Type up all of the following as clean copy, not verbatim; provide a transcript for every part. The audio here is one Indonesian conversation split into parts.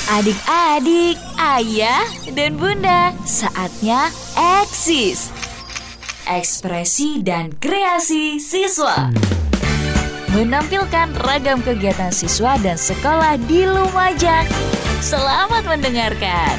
Adik-adik, ayah, dan bunda, saatnya eksis. Ekspresi dan kreasi siswa. Menampilkan ragam kegiatan siswa dan sekolah di Lumajang. Selamat mendengarkan.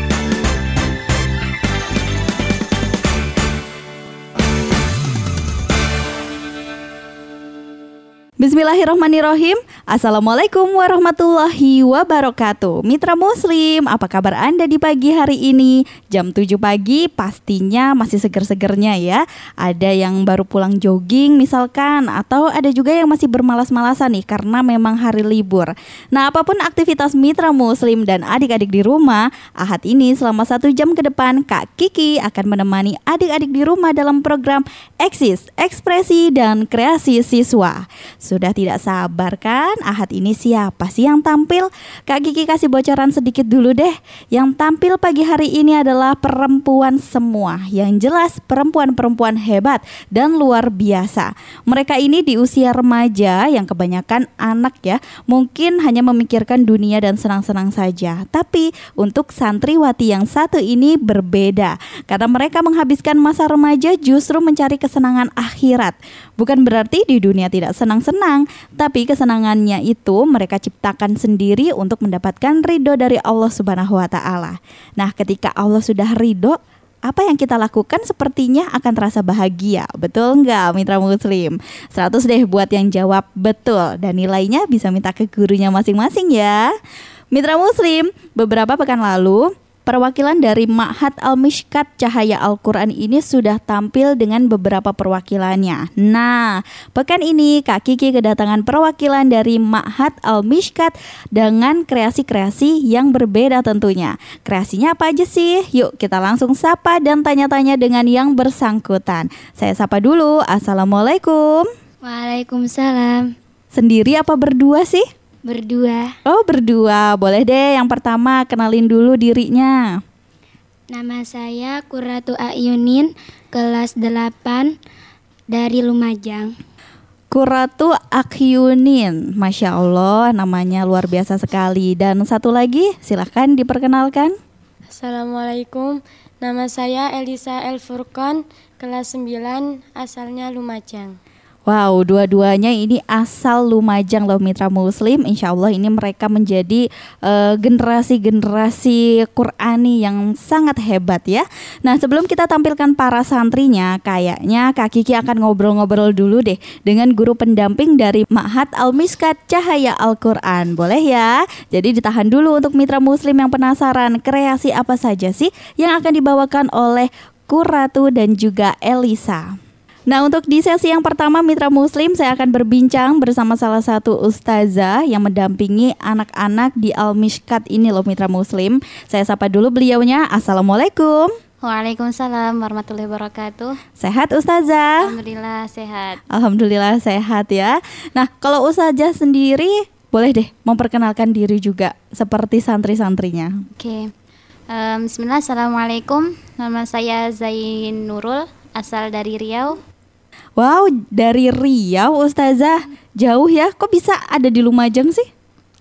Bismillahirrahmanirrahim. Assalamualaikum warahmatullahi wabarakatuh. Mitra Muslim, apa kabar Anda di pagi hari ini? Jam 7 pagi pastinya masih seger-segernya ya. Ada yang baru pulang jogging misalkan, atau ada juga yang masih bermalas-malasan nih karena memang hari libur. Nah, apapun aktivitas Mitra Muslim dan adik-adik di rumah, Ahad ini selama 1 jam ke depan Kak Kiki akan menemani adik-adik di rumah dalam program Eksis, Ekspresi dan Kreasi Siswa. Sudah tidak sabar kan? Ahad ini siapa sih yang tampil? Kak Kiki kasih bocoran sedikit dulu deh. Yang tampil pagi hari ini adalah perempuan semua. Yang jelas perempuan-perempuan hebat dan luar biasa. Mereka ini di usia remaja yang kebanyakan anak ya. Mungkin hanya memikirkan dunia dan senang-senang saja. Tapi untuk santriwati yang satu ini berbeda. Karena mereka menghabiskan masa remaja justru mencari kesenangan akhirat. Bukan berarti di dunia tidak senang-senang, tapi kesenangannya itu mereka ciptakan sendiri untuk mendapatkan ridho dari Allah Subhanahu wa Ta'ala. Nah, ketika Allah sudah ridho, apa yang kita lakukan sepertinya akan terasa bahagia. Betul nggak Mitra Muslim? 100 deh buat yang jawab betul. Dan nilainya bisa minta ke gurunya masing-masing ya. Mitra Muslim, beberapa pekan lalu perwakilan dari Ma'had Al-Mishkat Cahaya Al-Quran ini sudah tampil dengan beberapa perwakilannya. Nah, pekan ini Kak Kiki kedatangan perwakilan dari Ma'had Al-Mishkat dengan kreasi-kreasi yang berbeda tentunya. Kreasinya apa aja sih? Yuk kita langsung sapa dan tanya-tanya dengan yang bersangkutan. Saya sapa dulu. Assalamualaikum. Waalaikumsalam. Sendiri apa berdua sih? Berdua. Oh, berdua. Boleh deh yang pertama kenalin dulu dirinya. Nama saya Qurratu Ayunin, kelas 8 dari Lumajang. Qurratu Akyunin, Masya Allah, namanya luar biasa sekali. Dan satu lagi, silahkan diperkenalkan. Assalamualaikum, nama saya Elisa Elfurqon, kelas 9, asalnya Lumajang. Wow, dua-duanya ini asal Lumajang loh Mitra Muslim. Insya Allah ini mereka menjadi generasi-generasi Qur'ani yang sangat hebat ya. Nah, sebelum kita tampilkan para santrinya, kayaknya Kak Kiki akan ngobrol-ngobrol dulu deh dengan guru pendamping dari Ma'had Al-Mishkat Cahaya Al-Quran. Boleh ya? Jadi ditahan dulu untuk Mitra Muslim yang penasaran kreasi apa saja sih yang akan dibawakan oleh Qurratu dan juga Elisa. Nah, untuk di sesi yang pertama Mitra Muslim, saya akan berbincang bersama salah satu ustazah yang mendampingi anak-anak di Al-Mishkat ini loh Mitra Muslim. Saya sapa dulu beliaunya. Assalamualaikum. Waalaikumsalam warahmatullahi wabarakatuh. Sehat ustazah? Alhamdulillah sehat. Alhamdulillah sehat ya. Nah, kalau ustazah sendiri boleh deh memperkenalkan diri juga seperti santri-santrinya. Oke. Bismillah, assalamualaikum. Nama saya Zain Nurul, asal dari Riau. Wow, dari Riau ustazah. Jauh ya, kok bisa ada di Lumajang sih?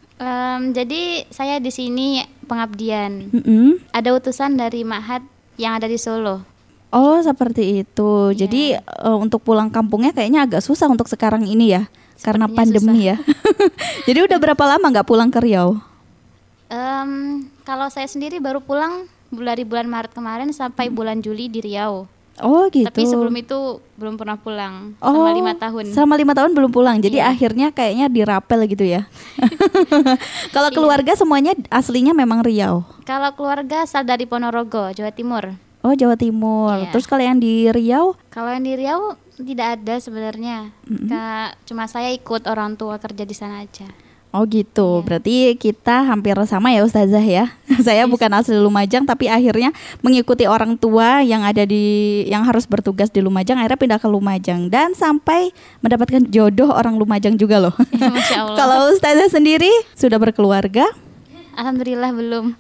Jadi saya di sini pengabdian. Ada utusan dari Ma'had yang ada di Solo. Oh, seperti itu. Yeah. Jadi untuk pulang kampungnya kayaknya agak susah untuk sekarang ini ya. Sepertinya karena pandemi susah. Ya. Jadi udah berapa lama nggak pulang ke Riau? Kalau saya sendiri baru pulang dari bulan Maret kemarin sampai bulan Juli di Riau. Oh gitu. Tapi sebelum itu belum pernah pulang. Selama 5 tahun. Selama 5 tahun belum pulang. Jadi akhirnya kayaknya dirapel gitu ya. Kalau keluarga semuanya aslinya memang Riau. Kalau keluarga asal dari Ponorogo, Jawa Timur. Oh, Jawa Timur. Terus kalau yang di Riau? Kalau yang di Riau tidak ada sebenarnya. Cuma saya ikut orang tua kerja di sana aja. Oh gitu, berarti kita hampir sama ya ustazah ya. Saya bukan asli Lumajang tapi akhirnya mengikuti orang tua yang harus bertugas di Lumajang, akhirnya pindah ke Lumajang dan sampai mendapatkan jodoh orang Lumajang juga loh. Masya Allah. Kalau ustazah sendiri sudah berkeluarga? Alhamdulillah belum.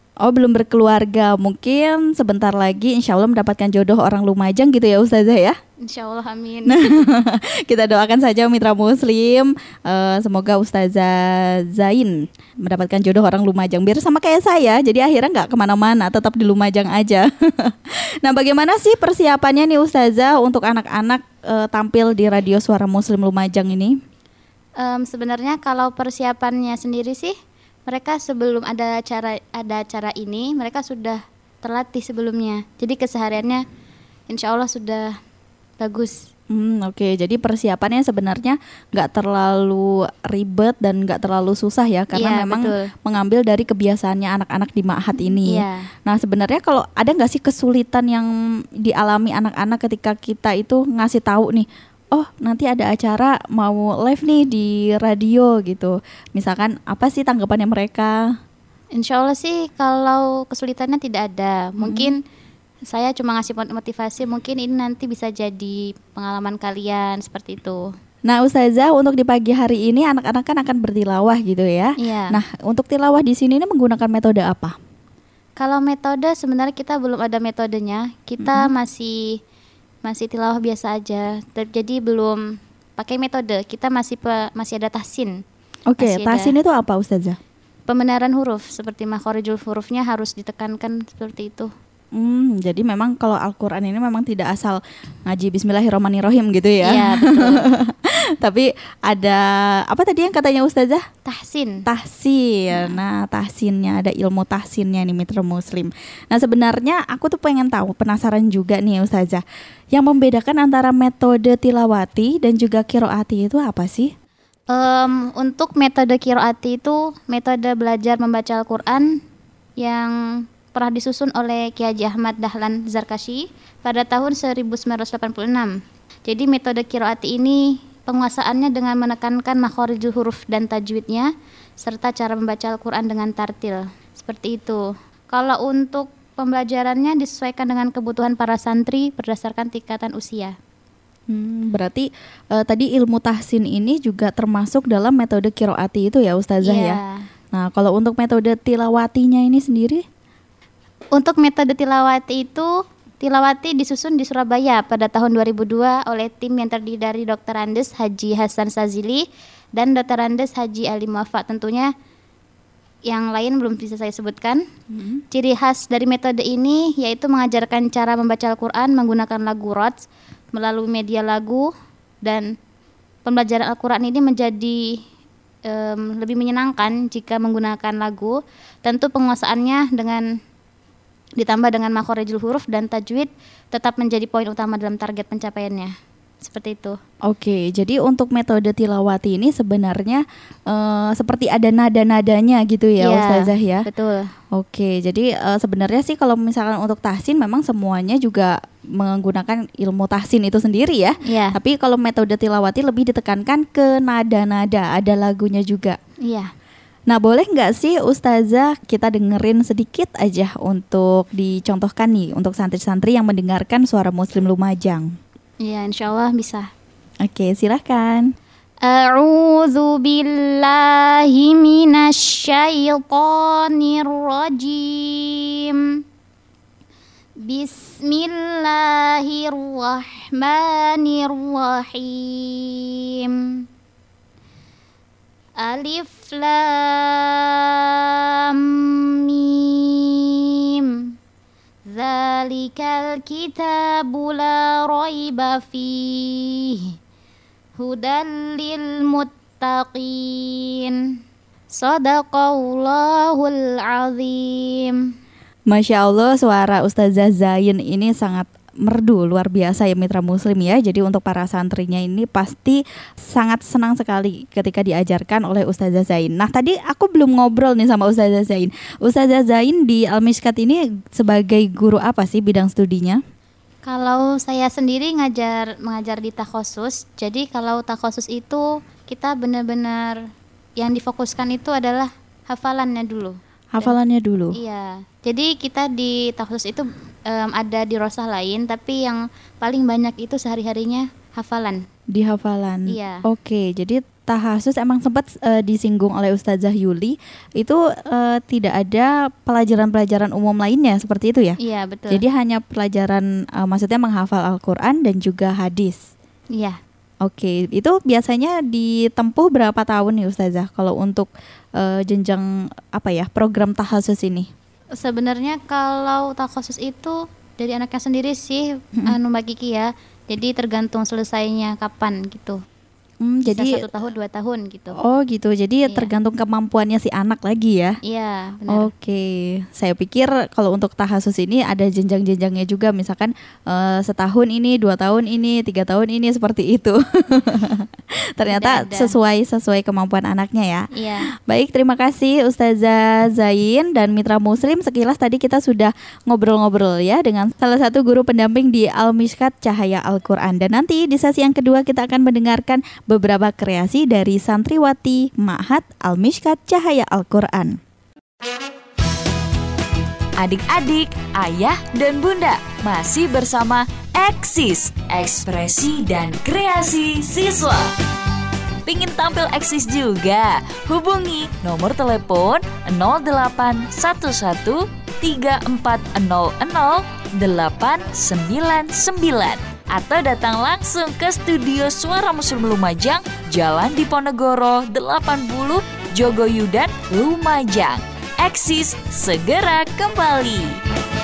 Oh, belum berkeluarga. Mungkin sebentar lagi insya Allah mendapatkan jodoh orang Lumajang gitu ya Ustazah ya. Insya Allah, amin. Kita doakan saja Mitra Muslim, semoga Ustazah Zain mendapatkan jodoh orang Lumajang. Biar sama kayak saya, jadi akhirnya nggak kemana-mana, tetap di Lumajang aja. Nah, bagaimana sih persiapannya nih Ustazah untuk anak-anak tampil di Radio Suara Muslim Lumajang ini? Sebenarnya kalau persiapannya sendiri sih, mereka sebelum ada acara ini, mereka sudah terlatih sebelumnya. Jadi kesehariannya insya Allah sudah bagus. Oke. Jadi persiapannya sebenarnya nggak terlalu ribet dan nggak terlalu susah ya, karena memang betul, mengambil dari kebiasaannya anak-anak di Ma'had ini. Nah, sebenarnya kalau ada nggak sih kesulitan yang dialami anak-anak ketika kita itu ngasih tahu nih, oh nanti ada acara mau live nih di radio gitu. Misalkan apa sih tanggapannya mereka? Insya Allah sih kalau kesulitannya tidak ada. Mungkin saya cuma ngasih motivasi, mungkin ini nanti bisa jadi pengalaman kalian seperti itu. Nah Ustazah, untuk di pagi hari ini anak-anak kan akan bertilawah gitu ya. Nah untuk tilawah di sini ini menggunakan metode apa? Kalau metode sebenarnya kita belum ada metodenya. Kita masih tilawah biasa aja. Jadi belum pakai metode. Kita masih ada tahsin. Oke, tahsin itu apa Ustazah? Pembenaran huruf, seperti makhorijul hurufnya harus ditekankan seperti itu. Jadi memang kalau Al-Quran ini memang tidak asal ngaji Bismillahirrahmanirrahim gitu ya. Iya, betul. Tapi ada apa tadi yang katanya Ustazah? Tahsin. Nah, tahsinnya, ada ilmu tahsinnya nih Mitra Muslim. Nah, sebenarnya aku tuh pengen tahu, penasaran juga nih Ustazah, yang membedakan antara metode tilawati dan juga qiraati itu apa sih? Untuk metode qiraati itu metode belajar membaca Al-Quran yang pernah disusun oleh Kiai Haji Ahmad Dahlan Zarkashi pada tahun 1986. Jadi metode qiraati ini penguasaannya dengan menekankan makhorijul huruf dan tajwidnya serta cara membaca Al-Quran dengan tartil. Seperti itu. Kalau untuk pembelajarannya disesuaikan dengan kebutuhan para santri berdasarkan tingkatan usia. Berarti tadi ilmu tahsin ini juga termasuk dalam metode qiraati itu ya Ustazah ya. Nah, kalau untuk metode tilawatinya ini sendiri? Untuk metode tilawati itu, tilawati disusun di Surabaya pada tahun 2002 oleh tim yang terdiri dari Dr. Andes Haji Hasan Sazili dan Dr. Andes Haji Ali Muwafa. Tentunya yang lain belum bisa saya sebutkan. Ciri khas dari metode ini yaitu mengajarkan cara membaca Al-Quran menggunakan lagu rods melalui media lagu, dan pembelajaran Al-Quran ini menjadi lebih menyenangkan jika menggunakan lagu. Tentu penguasaannya ditambah dengan makhorijul huruf dan tajwid tetap menjadi poin utama dalam target pencapaiannya. Seperti itu. Oke, jadi untuk metode tilawati ini sebenarnya seperti ada nada-nadanya gitu ya Ustazah ya. Betul. Oke, jadi sebenarnya sih kalau misalkan untuk tahsin memang semuanya juga menggunakan ilmu tahsin itu sendiri ya. Tapi kalau metode tilawati lebih ditekankan ke nada-nada, ada lagunya juga. Nah, boleh nggak sih Ustazah kita dengerin sedikit aja untuk dicontohkan nih untuk santri-santri yang mendengarkan Suara Muslim Lumajang? Iya, insya Allah bisa. Oke, silahkan. A'udzu billahi minasyaitonir rajim. Bismillahirrahmanirrahim. Alif Lam Mim. Zalikal kitabu la raiba fihi hudan lil muttaqin. Shadaqallahul azim. Masya Allah, suara Ustazah Zain ini sangat merdu, luar biasa ya Mitra Muslim ya. Jadi untuk para santrinya ini pasti sangat senang sekali ketika diajarkan oleh Ustazah Zain. Nah, tadi aku belum ngobrol nih sama Ustazah Zain. Ustazah Zain di Al-Mishkat ini sebagai guru apa sih bidang studinya? Kalau saya sendiri mengajar di takhosus. Jadi kalau takhosus itu kita benar-benar yang difokuskan itu adalah hafalannya dulu. Hafalannya dulu? Iya. Jadi kita di takhosus itu ada di rosah lain, tapi yang paling banyak itu sehari-harinya hafalan. Di hafalan. Iya. Oke, jadi tahasus emang sempat disinggung oleh Ustazah Yuli itu tidak ada pelajaran-pelajaran umum lainnya seperti itu ya? Iya, betul. Jadi hanya pelajaran maksudnya menghafal Al-Qur'an dan juga hadis. Iya. Oke, itu biasanya ditempuh berapa tahun nih Ustazah kalau untuk jenjang program tahasus ini? Sebenarnya kalau takhasus itu dari anaknya sendiri sih, Mbak Kiki ya. Jadi tergantung selesainya kapan gitu. Bisa Jadi 1 tahun 2 tahun gitu. oh gitu, jadi Iya. tergantung kemampuannya si anak lagi ya? Iya, benar. Oke, saya pikir kalau untuk tahasus ini ada jenjang-jenjangnya juga, misalkan setahun ini, 2 tahun ini, 3 tahun ini seperti itu. Ternyata Tidak ada. sesuai kemampuan anaknya ya. Iya. Baik, terima kasih Ustazah Zain dan Mitra Muslim. Sekilas tadi kita sudah ngobrol-ngobrol ya dengan salah satu guru pendamping di Al-Mishkat Cahaya Al-Quran. Dan nanti di sesi yang kedua kita akan mendengarkan beberapa kreasi dari santriwati Ma'had Al-Mishkat Cahaya Al-Quran. Adik-adik, ayah dan bunda masih bersama Eksis, ekspresi dan kreasi siswa. Pingin tampil eksis juga? Hubungi nomor telepon 0811 3400 899 atau datang langsung ke studio Suara Muslim Lumajang, Jalan Diponegoro 80, Jogoyudan, Lumajang. Eksis segera kembali.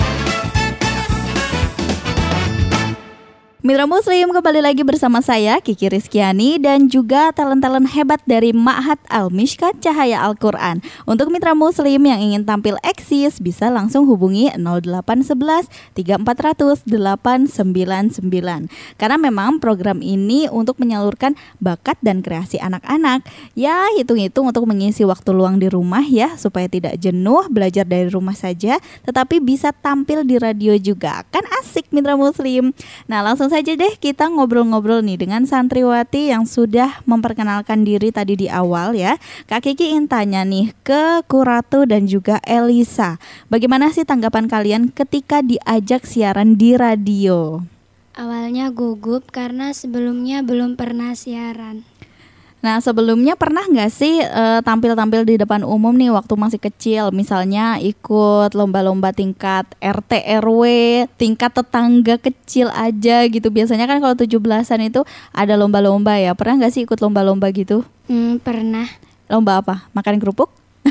Mitra Muslim, kembali lagi bersama saya Kiki Rizkyani dan juga talent-talent hebat dari Ma'had Al-Mishkat Cahaya Al-Quran. Untuk Mitra Muslim yang ingin tampil eksis bisa langsung hubungi 0811 3400 899. Karena memang program ini untuk menyalurkan bakat dan kreasi anak-anak. Ya, hitung-hitung untuk mengisi waktu luang di rumah ya, supaya tidak jenuh belajar dari rumah saja, tetapi bisa tampil di radio juga. Kan asik Mitra Muslim. Nah, langsung saja deh kita ngobrol-ngobrol nih dengan santriwati yang sudah memperkenalkan diri tadi di awal ya. Kak Kiki ingin tanya nih ke Kuratu dan juga Elisa. Bagaimana sih tanggapan kalian ketika diajak siaran di radio? Awalnya gugup karena sebelumnya belum pernah siaran. Nah, sebelumnya pernah nggak sih tampil-tampil di depan umum nih waktu masih kecil? Misalnya ikut lomba-lomba tingkat RT RW, tingkat tetangga kecil aja gitu. Biasanya kan kalau 17-an itu ada lomba-lomba ya. Pernah nggak sih ikut lomba-lomba gitu? Pernah. Lomba apa? Makan kerupuk?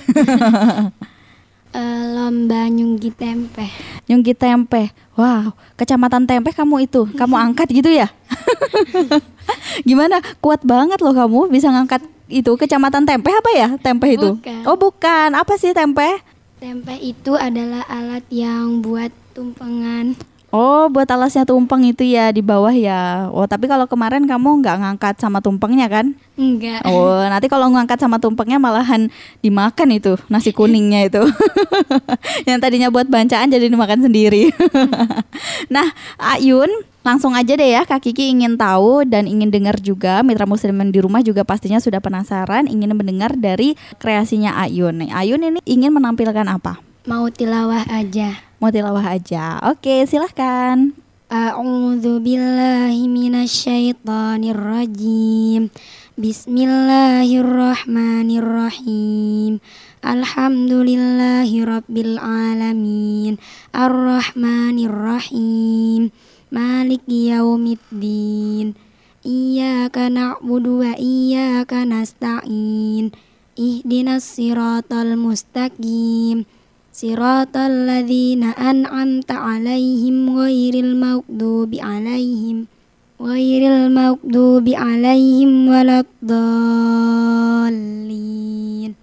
Lomba nyunggi tempe. Nyunggi tempe. Wow, kecamatan tempe kamu itu. Kamu angkat gitu ya? Gimana? Kuat banget loh kamu bisa ngangkat itu kecamatan tempe apa ya? Tempe itu? Bukan. Oh, bukan. Apa sih tempe? Tempe itu adalah alat yang buat tumpengan. Oh, buat alasnya tumpeng itu ya di bawah ya. Oh, tapi kalau kemarin kamu nggak ngangkat sama tumpengnya kan? Enggak. Oh, nanti kalau ngangkat sama tumpengnya malahan dimakan itu nasi kuningnya itu. Yang tadinya buat bancaan jadi dimakan sendiri. Nah, Ayun, langsung aja deh ya, Kak Kiki ingin tahu dan ingin dengar juga. Mitra Muslimin di rumah juga pastinya sudah penasaran ingin mendengar dari kreasinya Ayun. Nih, Ayun ini ingin menampilkan apa? Mau tilawah aja. Mau tilawah aja. Oke, silahkan. A'udzu billahi minasyaitonir rajim. Bismillahirrahmanirrahim. Alhamdulillahi rabbil alamin. Arrahmanirrahim. Maliki yaumiddin. Iyyaka na'budu wa iyyaka nasta'in. Ihdinas siratal mustaqim. Siratal ladzina an'amta 'alaihim ghairil maghdubi 'alaihim waladdallin.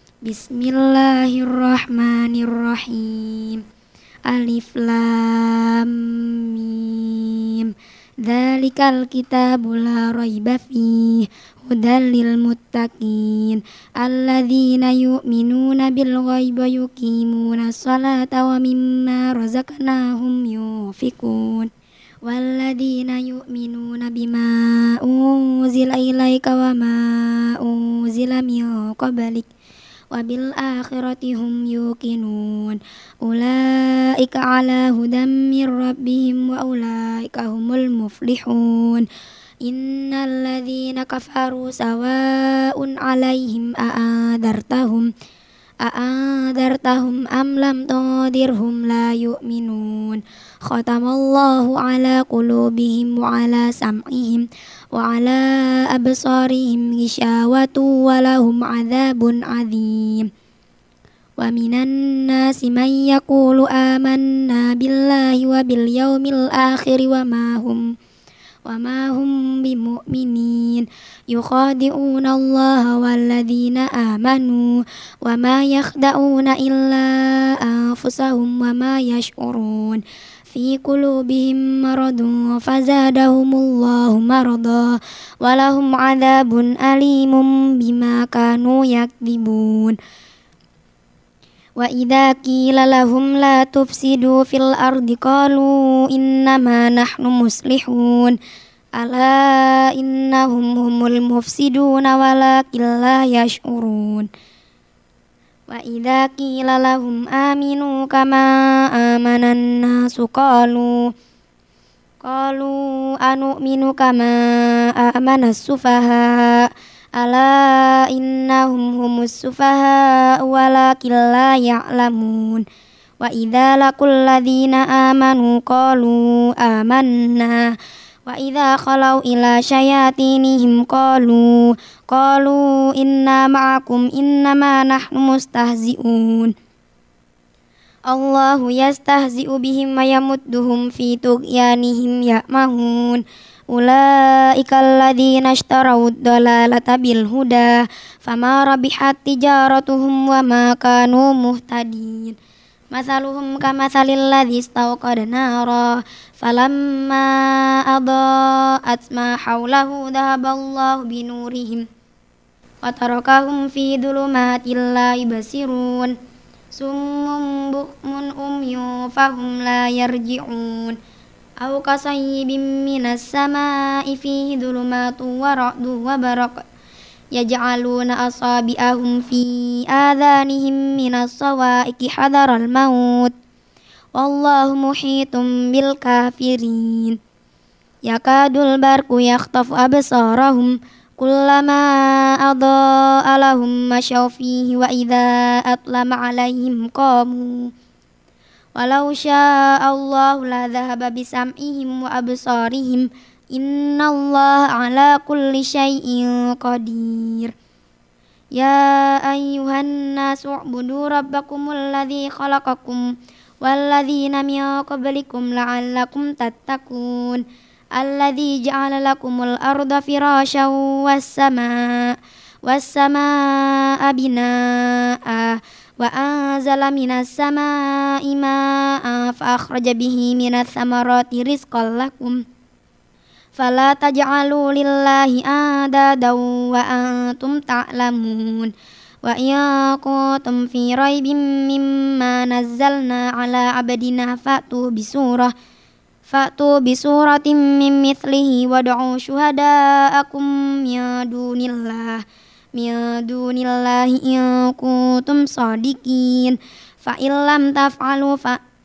Bismillahirrahmanirrahim. Alif lam mim. Dzalikal kitabu la raiba fihi hudal lil muttaqin alladzina yu'minuna bil ghaibi wa yuqimuna sholata wa mimma razaqnahum yunfiqun walladzina yu'minuna bima unzila ilaika wa ma unzila min qablik wa bil akhirati hum yuqinun ulaika ala hudam mir rabbihim wa ulaika humul muflihun. Innalladzina kafaru sawa'un 'alaihim a'adartahum am lam tundirhum la yu'minun. Khatamallahu 'ala qulubihim wa 'ala sam'ihim wa 'ala absarihim ghishawatu wa lahum 'adzabun 'adzim. Wa minan nasi man yaqulu amanna billahi wa bil yaumil akhir wa ma hum bimu'minin. Yukhadi'una Allah walladzina amanu wa ma yakhda'una illa anfusahum wa ma yash'urun. Fi qulubihim maradun fazadahumullahu marada wa lahum 'adzabun alimun bima kanu yakdzibun. Wa idza qila lahum la tufsidu fil ardi qalu innama nahnu muslihun. Ala innahum humul mufsiduna walakin la yash'urun. Wa idza qila lahum aminu kama amanan nasu qalu anu'minu kama amanas sufaha. Ala innahum humus sufaha walakin la ya'lamun. Wa idza laqul ladzina amanu qalu amanna wa idza khalau ila syayatinihim qalu inna ma'akum innama nahnu mustahzi'un. Allahu yastahzi'u bihim wa yamudduhum fi tughyanihim ya'mahun. Ulaika alladzina ishtaraw ad-dalalata bil huda fama rabihat tijaratuhum wa ma kanu muhtadin. Mathaluhum kamathalil ladzi istawqada nara falamma adaa'at ma hawlahu dhahaballahu binurihim wa tarakahum fi dhulumatin la yubsirun. Summun bukmun umyun fahum la yarji'un. Aw kasayyibin minas samaa'i fihi dhulumatun wa ra'dun wa baraq yaj'aluna asabi'ahum fi adhanihim minas sawa'iqi hadaral maut wallahu muhitum bil kafirin. Yakadul barqu yakhtafu absarahum kullama adaa'a lahum masyaw fihi wa idza atlama 'alaihim qamu. Walau sya'allahu la dhahaba bisam'ihim wa absarihim innallaha ala kulli syai'in qadir. Ya ayyuhan nasu u'budu rabbakumul ladzi khalaqakum walladzina min qablikum la'allakum tattaqun. Alladzi ja'ala lakumul arda firasyan was-samaa'a binaa'a wa anzala minas samaa'i maa'an fa akhraja bihi minats thamarati rizqan lakum fala taj'alu lillahi andadan wa antum ta'lamun. Wa in kuntum fi raibin mimma nazzalna ala 'abdina fa'tu bisuratin min mithlihi wad'u syuhada'akum min dunillahi in kuntum shadiqin. Fa illam taf'alu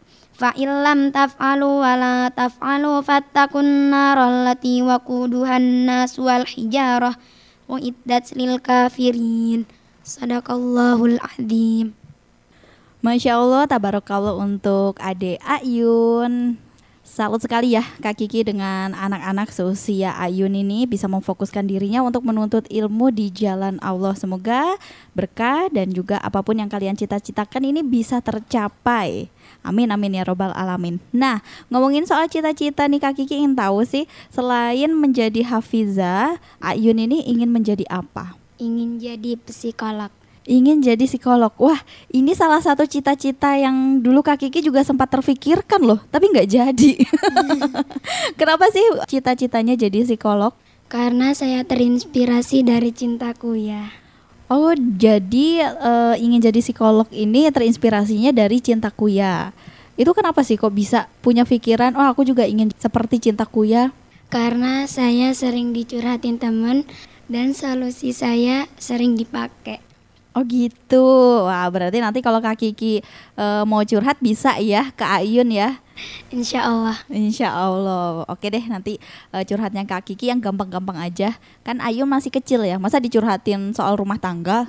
wa la taf'alu fattaqun naral lati waquduhan nas wal hijarah wa iddat lil kafirin. Sadaqallahul azim. Masya Allah, tabarakallah untuk Ade Ayun. Salut sekali ya Kak Kiki dengan anak-anak seusia Ayun ini bisa memfokuskan dirinya untuk menuntut ilmu di jalan Allah. Semoga berkah dan juga apapun yang kalian cita-citakan ini bisa tercapai. Amin amin ya robbal alamin. Nah, ngomongin soal cita-cita nih Kak Kiki ingin tahu sih, selain menjadi hafizah, Ayun ini ingin menjadi apa? Ingin jadi psikolog. Ingin jadi psikolog. Wah, ini salah satu cita-cita yang dulu Kak Kiki juga sempat terfikirkan loh, tapi nggak jadi. Kenapa sih cita-citanya jadi psikolog? Karena saya terinspirasi dari cintaku ya. Oh, jadi ingin jadi psikolog ini terinspirasinya dari cintaku ya. Itu kenapa sih kok bisa punya pikiran, oh aku juga ingin seperti cintaku ya? Karena saya sering dicurhatin temen dan solusi saya sering dipakai. Oh gitu. Wah, berarti nanti kalau Kak Kiki mau curhat bisa ya ke Ayun ya. Insya Allah. Insya Allah. Oke deh, nanti curhatnya Kak Kiki yang gampang-gampang aja. Kan Ayun masih kecil ya, masa dicurhatin soal rumah tangga?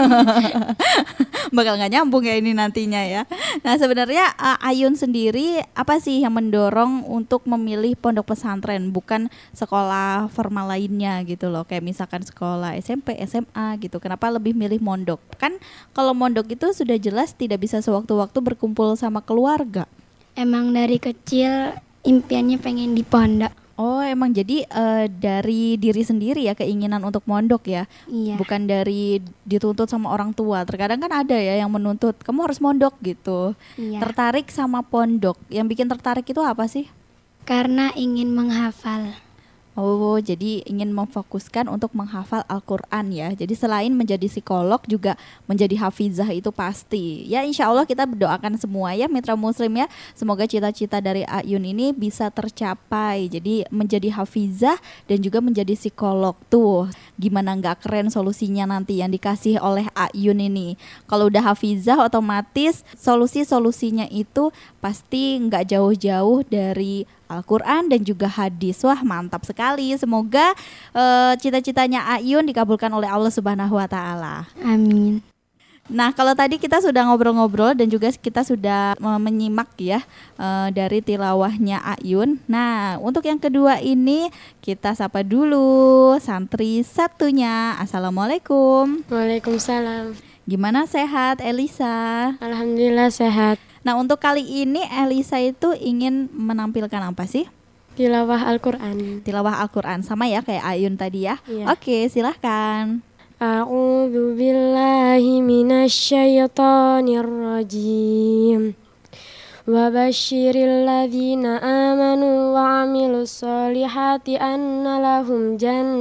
Bakal nggak nyambung ya ini nantinya ya. Nah sebenarnya Ayun sendiri apa sih yang mendorong untuk memilih pondok pesantren, bukan sekolah formal lainnya gitu loh, kayak misalkan sekolah SMP, SMA gitu. Kenapa lebih milih mondok? Kan kalau mondok itu sudah jelas tidak bisa sewaktu-waktu berkumpul sama keluarga. Emang dari kecil impiannya pengen di pondok. Oh emang jadi dari diri sendiri ya keinginan untuk mondok ya, Iya. bukan dari dituntut sama orang tua. Terkadang kan ada ya yang menuntut kamu harus mondok gitu. Iya. Tertarik sama pondok, yang bikin tertarik itu apa sih? Karena ingin menghafal. Oh, jadi ingin memfokuskan untuk menghafal Al-Quran ya. Jadi selain menjadi psikolog juga menjadi hafizah itu pasti. Ya insya Allah kita berdoakan semua ya Mitra Muslim ya. Semoga cita-cita dari Ayun ini bisa tercapai. Jadi menjadi hafizah dan juga menjadi psikolog. Tuh gimana nggak keren solusinya nanti yang dikasih oleh Ayun ini. Kalau udah hafizah otomatis solusi-solusinya itu pasti nggak jauh-jauh dari Al-Quran dan juga hadis. Wah mantap sekali. Semoga cita-citanya Ayun dikabulkan oleh Allah Subhanahu wa Ta'ala. Amin. Nah kalau tadi kita sudah ngobrol-ngobrol dan juga kita sudah menyimak ya dari tilawahnya Ayun. Nah untuk yang kedua ini kita sapa dulu santri satunya. Assalamualaikum. Waalaikumsalam. Gimana sehat Elisa? Alhamdulillah sehat. Nah untuk kali ini Elisa itu ingin menampilkan apa sih? Tilawah Al-Quran. Tilawah Al-Quran sama ya kayak Ayun tadi ya. Iya. Oke silahkan. A'udzu billahi minasyaitonir rajim. Wa basyiril ladzina amanu wa 'amilus solihati anna lahum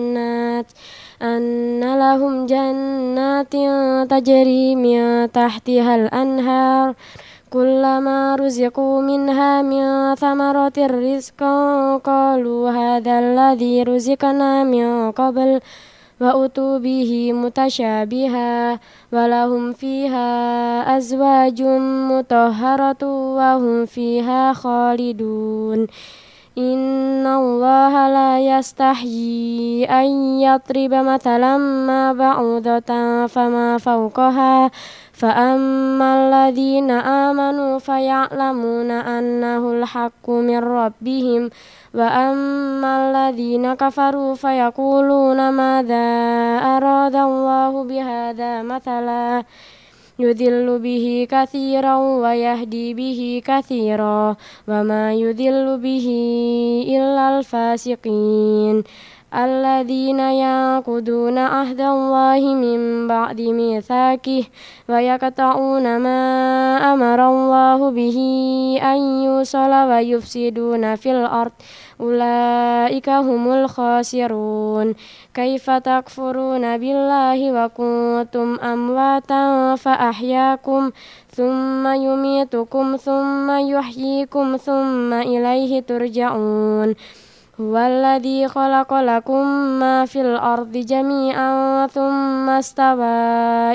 jannatin tajri min tahtihal anhar. Kullama ruziqu minha min thamaratir rizqan qalu hadzal ladzi ruziqna min qabl wa utu bihi mutasyabiha wa lahum fiha azwajum mutahharatu wa hum fiha khalidun. Innallaha la yastahyi an yatriba mathalan ma ba'udatan fama fawqaha فأما الذين آمنوا فيعلمون أنه الحق من ربهم وأما الذين كفروا فيقولون ماذا أراد الله بهذا مثلا يضل به كثيرا ويهدي به كثيرا وما يضل به إلا الفاسقين الذين ينقضون عهد الله من بعد ميثاقه ويقطعون ما أمر الله به أن يوصل ويفسدون في الأرض أولئك هم الخاسرون كيف تكفرون بالله وكنتم أمواتا فأحياكم ثم يميتكم ثم يحييكم ثم إليه ترجعون هو الذي خلق لكم ما في الأرض جميعا ثم استوى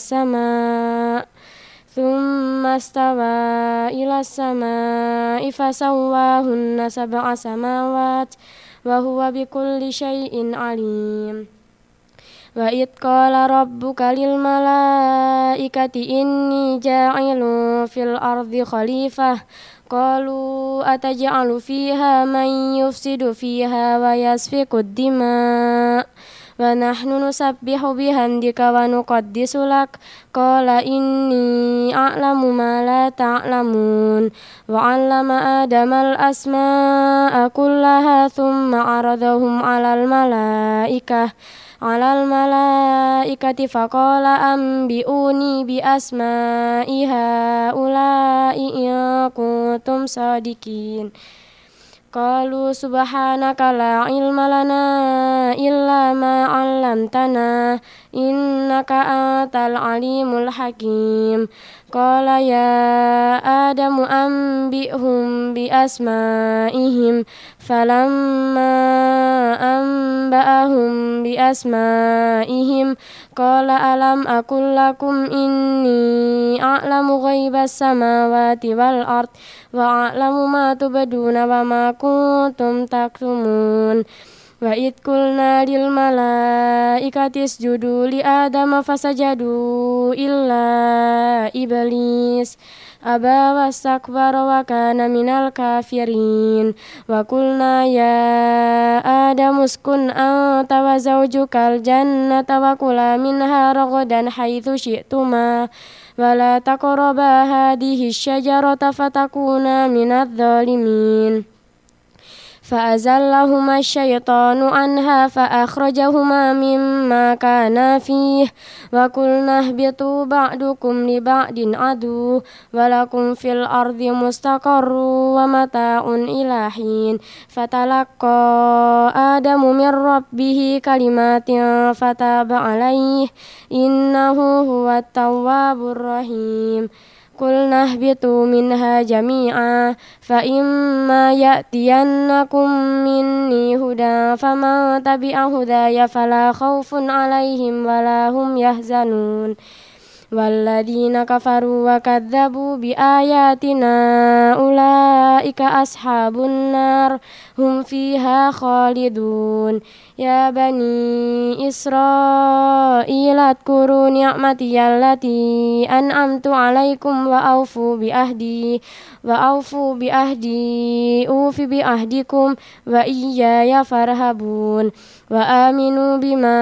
إلى السماء فسواهن 7 سماوات وهو بكل شيء عليم وإذ قال ربك للملائكة إني جاعل في الأرض خليفة قالوا أتجعل فيها من يفسد فيها ويسفك الدماء ونحن نسبح بحمدك ونقدس لك قال إني أعلم ما لا تعلمون وعلم آدم الأسماء كلها ثم عرضهم على الملائكة فقال أنبئوني بأسماء هؤلاء إن كنتم صادقين Qalu subhanaka la ilma lana illa ma 'allamtana innaka antal alimul hakim. Qala ya Adamu anbi'hum bi asma'ihim falamma anba'ahum bi asma'ihim qala alam aqul lakum inni a'lamu ghaibas samawati wal ard wa a'lamu ma tubduna wa ma kuntum taktumun. Wa id qulna lil malaikati isjudu li adama fasajadu illa iblis aba wastakbara wa kana minal kafirin. Wa qulna ya adamu uskun anta wa zawjukal jannata wa kula minha ragadan haitsu syi'tuma wa la taqraba hadhihi syajarata fatakuna minadh dhalimin. فأزلهما الشيطان عنها فأخرجهما مما كانا فيه وقلنا اهبطوا بعضكم لبعض عدو ولكم في الأرض مستقر ومتاع إلى حين فتلقى آدم من ربه كلمات فتاب عليه إنه هو التواب الرحيم. قلنا اهبطوا منها جميعا فإما يأتينكم مني هدى فمن تبع هداي فلا خوف عليهم ولا هم يحزنون. والذين كفروا وكذبوا بآياتنا أولئك أصحاب النار هم فيها خالدون. يا بني إسرائيل اذكروا نعمتي التي أنعمت عليكم وأوفوا بأهدي أوف بأهدكم وإياي فارهبون. وآمنوا بما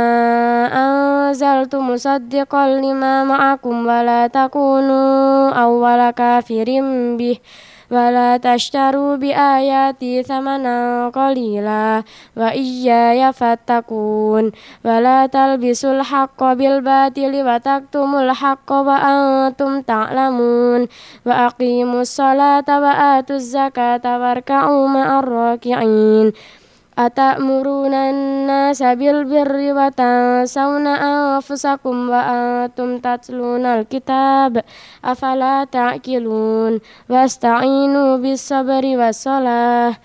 أنزلت مصدقا لما معكم ولا تكونوا أول كافر به ولا تشتروا بآياتي ثمنا قليلا وإياي فاتقون. ولا تلبسوا الحق بالباطل وتكتموا الحق وأنتم تعلمون. وأقيموا الصلاة وآتوا الزكاة واركعوا مع الراكعين. أتأمرون الناس بالبر وتنسون أنفسكم وأنتم تتلون الكتاب أفلا تعقلون. واستعينوا بالصبر والصلاة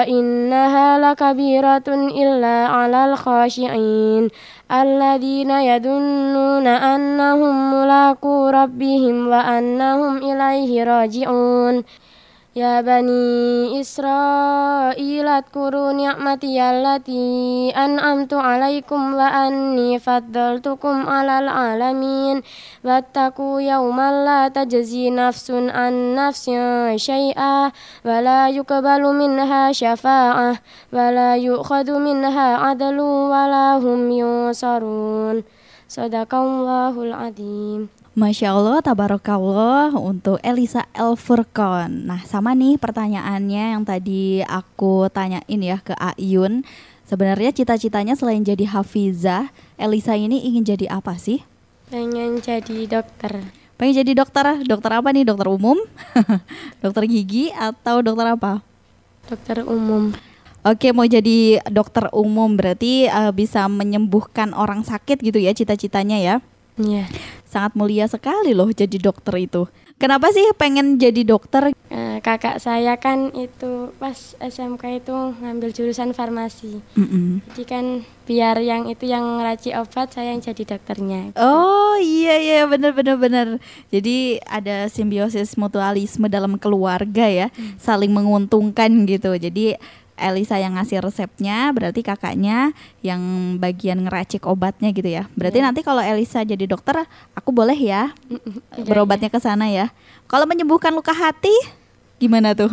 وإنها لكبيرة إلا على الخاشعين الذين يظنون أنهم ملاقو ربهم وأنهم إليه راجعون. يا بني إسرائيل اذكروا نعمتي التي أنعمت عليكم وأني فضلتكم على العالمين. واتقوا يوما لا تجزي نفس عن نفس شيئا ولا يقبل منها شفاعة ولا يؤخذ منها عدل ولا هم ينصرون. Sadaqallahul Adzim. Masya Allah, tabarakallah untuk Elisa El Furqon. Nah, sama nih pertanyaannya yang tadi aku tanyain ya ke Ayun. Sebenarnya cita-citanya selain jadi hafizah, Elisa ini ingin jadi apa sih? Pengen jadi dokter. Pengen jadi dokter? Dokter apa nih? Dokter umum? Dokter gigi atau dokter apa? Dokter umum. Oke, mau jadi dokter umum berarti bisa menyembuhkan orang sakit gitu ya cita-citanya ya? Iya. Sangat mulia sekali loh jadi dokter itu. Kenapa sih pengen jadi dokter? Kakak saya kan itu pas SMK itu ngambil jurusan farmasi. Jadi kan biar yang itu yang ngeracik obat, saya yang jadi dokternya. Oh iya benar. Jadi ada simbiosis mutualisme dalam keluarga ya, saling menguntungkan gitu. Jadi Elisa yang ngasih resepnya, berarti kakaknya yang bagian ngeracik obatnya gitu ya. Berarti nanti kalau Elisa jadi dokter, aku boleh ya berobatnya ke sana ya. Kalau menyembuhkan luka hati, gimana tuh?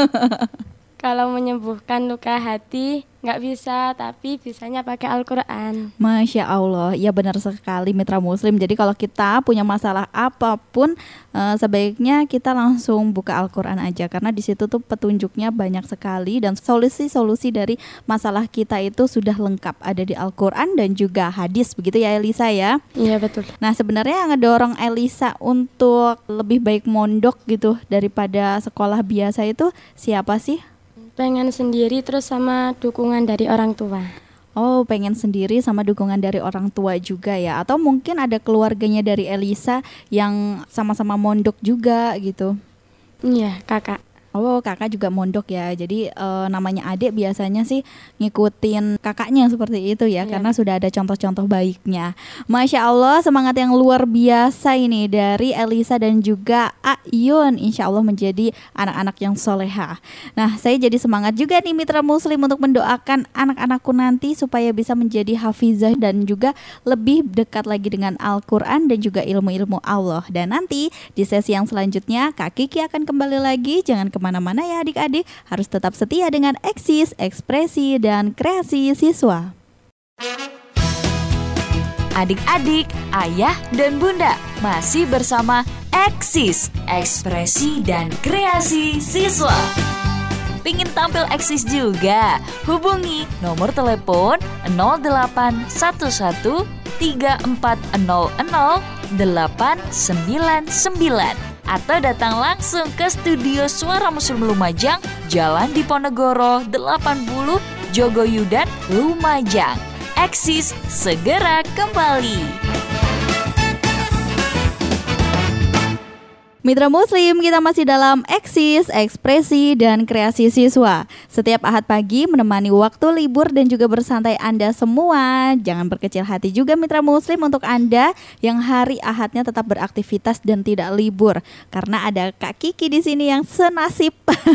Kalau menyembuhkan luka hati nggak bisa, tapi bisanya pakai Al-Quran. Masya Allah, ya benar sekali mitra muslim. Jadi kalau kita punya masalah apapun, sebaiknya kita langsung buka Al-Quran aja. Karena di situ tuh petunjuknya banyak sekali dan solusi-solusi dari masalah kita itu sudah lengkap. Ada di Al-Quran dan juga hadis, begitu ya Elisa ya? Iya betul. Nah sebenarnya yang ngedorong Elisa untuk lebih baik mondok gitu daripada sekolah biasa itu siapa sih? Pengen sendiri terus sama dukungan dari orang tua. Oh, pengen sendiri sama dukungan dari orang tua juga ya? Atau mungkin ada keluarganya dari Elisa yang sama-sama mondok juga gitu? Iya, kakak. Oh, kakak juga mondok ya. Jadi namanya adik biasanya sih ngikutin kakaknya seperti itu ya, karena sudah ada contoh-contoh baiknya. Masya Allah, semangat yang luar biasa ini dari Elisa dan juga Ayun. Insya Allah menjadi anak-anak yang soleha. Nah, saya jadi semangat juga nih Mitra Muslim untuk mendoakan anak-anakku nanti supaya bisa menjadi hafizah dan juga lebih dekat lagi dengan Al-Quran dan juga ilmu-ilmu Allah. Dan nanti di sesi yang selanjutnya Kak Kiki akan kembali lagi. Jangan kemana-mana ya adik-adik, harus tetap setia dengan Eksis, Ekspresi, dan Kreasi Siswa. Adik-adik, ayah dan bunda masih bersama Eksis, Ekspresi, dan Kreasi Siswa. Pingin tampil eksis juga? Hubungi nomor telepon 0811 3400 899 atau datang langsung ke studio Suara Muslim Lumajang, Jalan Diponegoro 80, Jogoyudan, Lumajang. Eksis segera kembali. Mitra Muslim, kita masih dalam Eksis, Ekspresi, dan Kreasi Siswa. Setiap Ahad pagi menemani waktu libur dan juga bersantai Anda semua. Jangan berkecil hati juga Mitra Muslim untuk Anda yang hari Ahadnya tetap beraktivitas dan tidak libur. Karena ada Kak Kiki di sini yang senasib.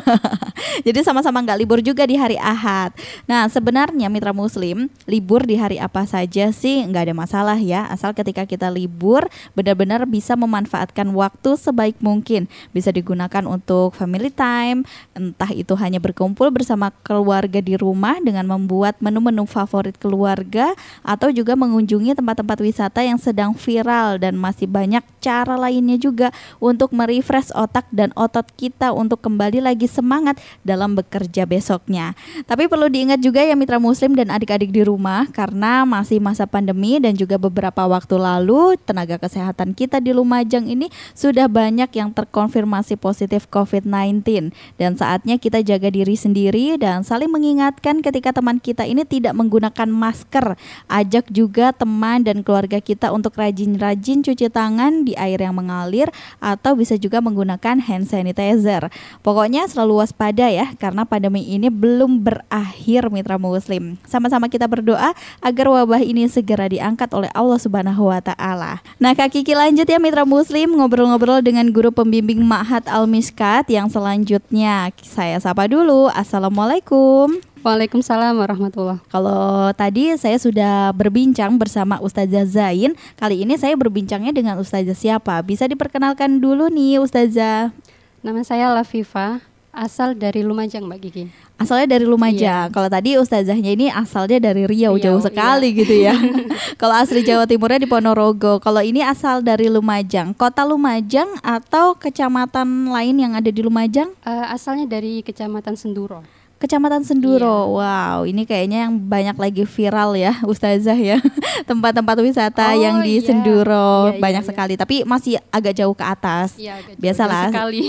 Jadi sama-sama nggak libur juga di hari Ahad. Nah, sebenarnya Mitra Muslim, libur di hari apa saja sih nggak ada masalah ya. Asal ketika kita libur, benar-benar bisa memanfaatkan waktu sebaik mungkin. Bisa digunakan untuk family time, entah itu hanya berkumpul bersama keluarga di rumah dengan membuat menu-menu favorit keluarga, atau juga mengunjungi tempat-tempat wisata yang sedang viral, dan masih banyak cara lainnya juga untuk merefresh otak dan otot kita untuk kembali lagi semangat dalam bekerja besoknya. Tapi perlu diingat juga ya Mitra Muslim dan adik-adik di rumah, karena masih masa pandemi dan juga beberapa waktu lalu tenaga kesehatan kita di Lumajang ini sudah banyak yang terkonfirmasi positif COVID-19, dan saatnya kita jaga diri sendiri dan saling mengingatkan ketika teman kita ini tidak menggunakan masker. Ajak juga teman dan keluarga kita untuk rajin-rajin cuci tangan di air yang mengalir atau bisa juga menggunakan hand sanitizer. Pokoknya selalu waspada ya, karena pandemi ini belum berakhir Mitra Muslim. Sama-sama kita berdoa agar wabah ini segera diangkat oleh Allah Subhanahu wa Ta'ala. Nah, Kak Kiki lanjut ya Mitra Muslim, ngobrol-ngobrol dengan guru pembimbing Ma'had Al-Miskat yang selanjutnya. Saya sapa dulu. Assalamualaikum. Waalaikumsalam warahmatullahi. Kalau tadi saya sudah berbincang bersama Ustazah Zain, kali ini saya berbincangnya dengan Ustazah siapa? Bisa diperkenalkan dulu nih Ustazah. Nama saya Lafifa, asal dari Lumajang Mbak Kiki. Asalnya dari Lumajang. Kalau tadi Ustazahnya ini asalnya dari Riau, jauh sekali gitu ya. Kalau asli Jawa Timurnya di Ponorogo. Kalau ini asal dari Lumajang. Kota Lumajang atau kecamatan lain yang ada di Lumajang? Asalnya dari Kecamatan Senduro. Kecamatan Senduro. Wow, ini kayaknya yang banyak lagi viral ya Ustazah ya. Tempat-tempat wisata yang di Senduro banyak sekali, tapi masih agak jauh ke atas. Biasalah.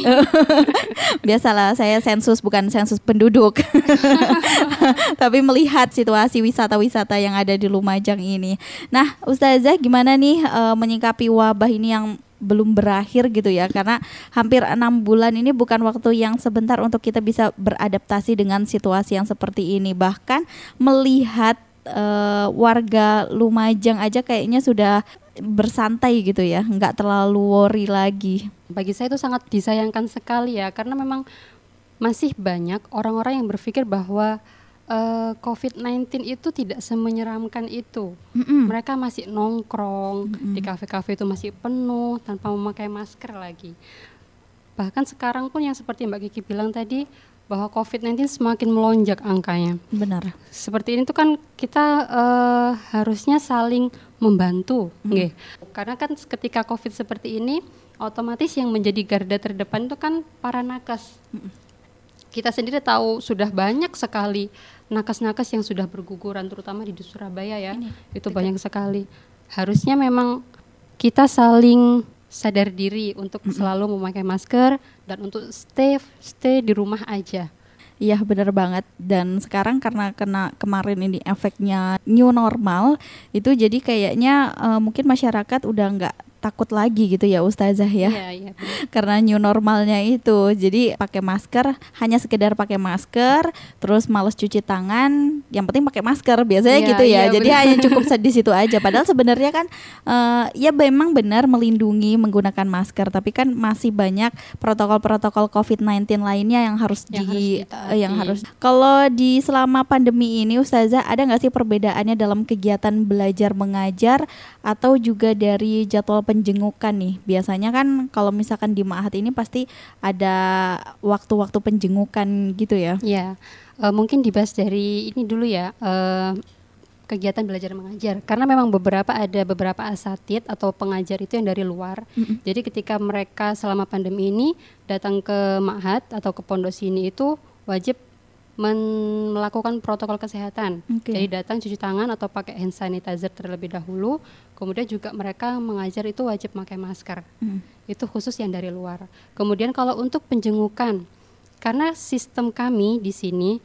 Biasalah, saya sensus bukan sensus penduduk. Tapi melihat situasi wisata-wisata yang ada di Lumajang ini. Nah, Ustazah gimana nih menyikapi wabah ini yang belum berakhir gitu ya, karena hampir 6 bulan ini bukan waktu yang sebentar untuk kita bisa beradaptasi dengan situasi yang seperti ini. Bahkan melihat warga Lumajang aja kayaknya sudah bersantai gitu ya, nggak terlalu worry lagi. Bagi saya itu sangat disayangkan sekali ya, karena memang masih banyak orang-orang yang berpikir bahwa COVID-19 itu tidak semenyeramkan itu. Mereka masih nongkrong di kafe-kafe itu masih penuh tanpa memakai masker lagi. Bahkan sekarang pun yang seperti Mbak Kiki bilang tadi, bahwa COVID-19 semakin melonjak angkanya. Benar. Seperti ini tuh kan kita harusnya saling membantu, karena kan ketika COVID seperti ini, otomatis yang menjadi garda terdepan itu kan para nakes. Kita sendiri tahu sudah banyak sekali nakes-nakes yang sudah berguguran, terutama di Surabaya ya. Itu banyak sekali. Harusnya memang kita saling sadar diri untuk selalu memakai masker dan untuk stay di rumah aja. Iya benar banget. Dan sekarang karena kena kemarin ini efeknya new normal, itu jadi kayaknya mungkin masyarakat udah nggak takut lagi gitu ya Ustazah ya. Iya, Karena new normalnya itu, jadi pakai masker, hanya sekedar pakai masker, terus malas cuci tangan, yang penting pakai masker biasanya gitu ya. Jadi hanya cukup di situ aja. Padahal sebenarnya kan ya memang benar melindungi menggunakan masker, tapi kan masih banyak protokol-protokol COVID-19 lainnya yang harus Kalau di selama pandemi ini Ustazah, ada nggak sih perbedaannya dalam kegiatan belajar mengajar atau juga dari jadwal penjengukan nih? Biasanya kan kalau misalkan di Ma'had ini pasti ada waktu-waktu penjengukan gitu ya. Ya, mungkin dibahas dari ini dulu ya, kegiatan belajar mengajar. Karena memang ada beberapa asatid atau pengajar itu yang dari luar. Jadi ketika mereka selama pandemi ini datang ke Ma'had atau ke pondok sini itu wajib melakukan protokol kesehatan. Jadi datang cuci tangan atau pakai hand sanitizer terlebih dahulu. Kemudian juga mereka mengajar itu wajib pakai masker. Itu khusus yang dari luar. Kemudian kalau untuk penjengukan, karena sistem kami di sini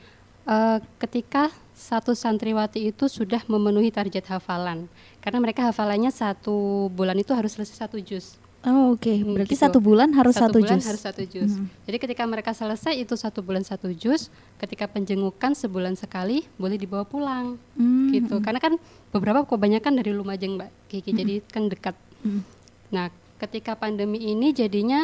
ketika satu santriwati itu sudah memenuhi target hafalan, karena mereka hafalannya 1 bulan itu harus selesai 1 juz. Oh oke. Berarti gitu. 1 bulan harus 1 juz. Harus 1 juz. Jadi ketika mereka selesai itu 1 bulan 1 juz, ketika penjengukan sebulan sekali boleh dibawa pulang, gitu. Karena kan kebanyakan dari Lumajang Mbak Kiki, jadi kan dekat. Nah ketika pandemi ini jadinya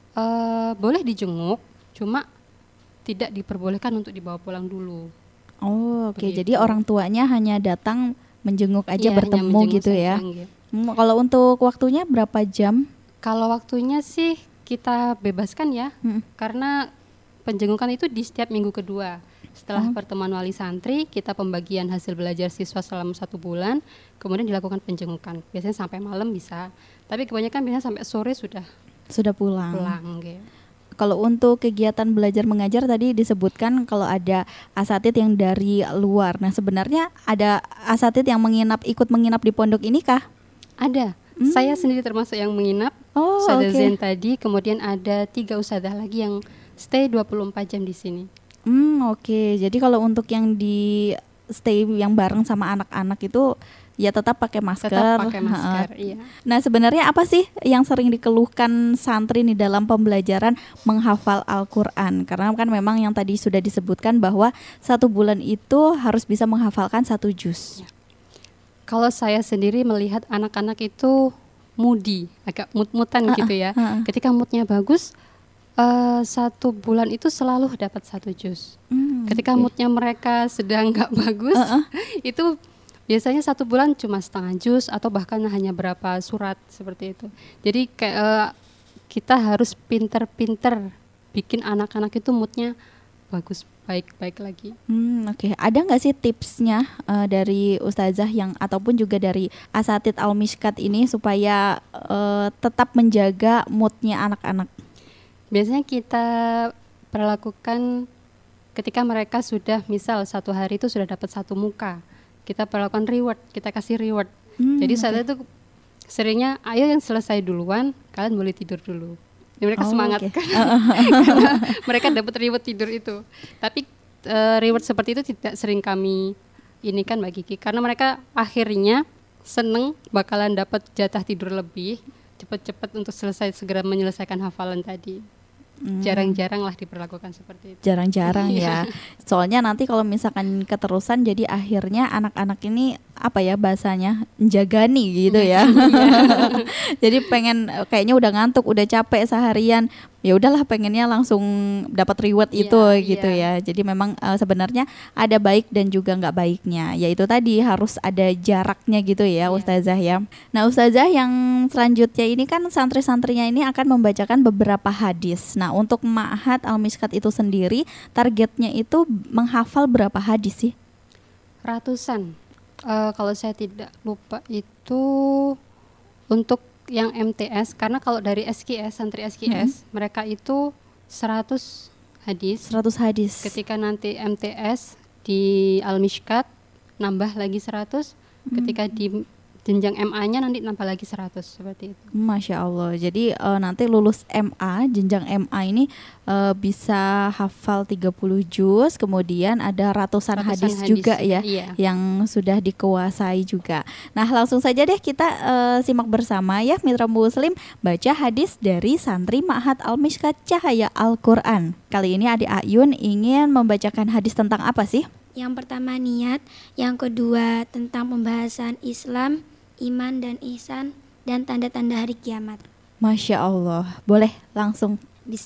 boleh dijenguk, cuma tidak diperbolehkan untuk dibawa pulang dulu. Oh oke. Jadi orang tuanya hanya datang menjenguk aja, bertemu gitu ya. Kalau untuk waktunya berapa jam? Kalau waktunya sih kita bebaskan ya, karena penjengukan itu di setiap minggu kedua. Setelah pertemuan wali santri, kita pembagian hasil belajar siswa selama 1 bulan, kemudian dilakukan penjengukan. Biasanya sampai malam bisa, tapi kebanyakan biasanya sampai sore sudah pulang gitu. Kalau untuk kegiatan belajar mengajar tadi disebutkan kalau ada asatid yang dari luar. Nah sebenarnya ada asatid yang ikut menginap di pondok ini kah? Ada. Saya sendiri termasuk yang menginap. Ustazah Zen tadi, kemudian ada 3 ustazah lagi yang stay 24 jam di sini. Oke. Jadi kalau untuk yang di stay yang bareng sama anak-anak itu ya tetap pakai masker. Iya. Nah sebenarnya apa sih yang sering dikeluhkan santri nih dalam pembelajaran menghafal Al-Quran? Karena kan memang yang tadi sudah disebutkan bahwa 1 bulan itu harus bisa menghafalkan 1 juz. Kalau saya sendiri melihat anak-anak itu moody, agak mut-mutan gitu ya. Ketika moodnya bagus, 1 bulan itu selalu dapat 1 juz. Ketika moodnya mereka sedang nggak bagus, itu biasanya 1 bulan cuma setengah juz atau bahkan hanya berapa surat seperti itu. Jadi kita harus pinter-pinter bikin anak-anak itu moodnya bagus, baik-baik lagi. Oke. Ada nggak sih tipsnya dari Ustazah yang ataupun juga dari asatid Al-Mishkat ini supaya tetap menjaga moodnya anak-anak? Biasanya kita perlakukan ketika mereka sudah misal 1 hari itu sudah dapat 1 muka, kita perlakukan reward, kita kasih reward. Jadi saat itu seringnya ayo yang selesai duluan, kalian boleh tidur dulu. Mereka semangat karena mereka dapat reward tidur itu. Tapi reward seperti itu tidak sering kami kan Mbak Kiki, karena mereka akhirnya seneng bakalan dapat jatah tidur lebih cepat-cepat untuk segera menyelesaikan hafalan tadi. Jarang-jarang lah diperlakukan seperti itu. Jarang-jarang ya. Soalnya nanti kalau misalkan keterusan jadi akhirnya anak-anak ini apa ya bahasanya menjagani gitu ya. Jadi kayaknya udah ngantuk, udah capek seharian, ya udahlah pengennya langsung dapat reward itu gitu ya. Jadi memang sebenarnya ada baik dan juga nggak baiknya. Yaitu tadi harus ada jaraknya gitu ya Ustazah ya. Nah Ustazah yang selanjutnya ini kan santri-santrinya ini akan membacakan beberapa hadis. Nah untuk Ma'had Al-Mishkat itu sendiri targetnya itu menghafal berapa hadis sih? Ratusan. Kalau saya tidak lupa itu untuk yang MTS, karena kalau dari SKS, santri SKS, mereka itu 100 hadis. 100 hadis. Ketika nanti MTS di Al-Mishkat nambah lagi 100. Ketika di jenjang MA-nya nanti nambah lagi 100 seperti itu. Masya Allah. Jadi nanti lulus MA, jenjang MA ini bisa hafal 30 juz, kemudian ada ratusan hadis juga ya, yang sudah dikuasai juga. Nah, langsung saja deh kita simak bersama ya Mitra Muslim, baca hadis dari santri Ma'had Al-Mishkat Cahaya Al-Quran. Kali ini Adik Ayun ingin membacakan hadis tentang apa sih? Yang pertama niat, yang kedua tentang pembahasan Islam, iman dan ihsan, dan tanda-tanda hari kiamat. Masya Allah. Boleh langsung.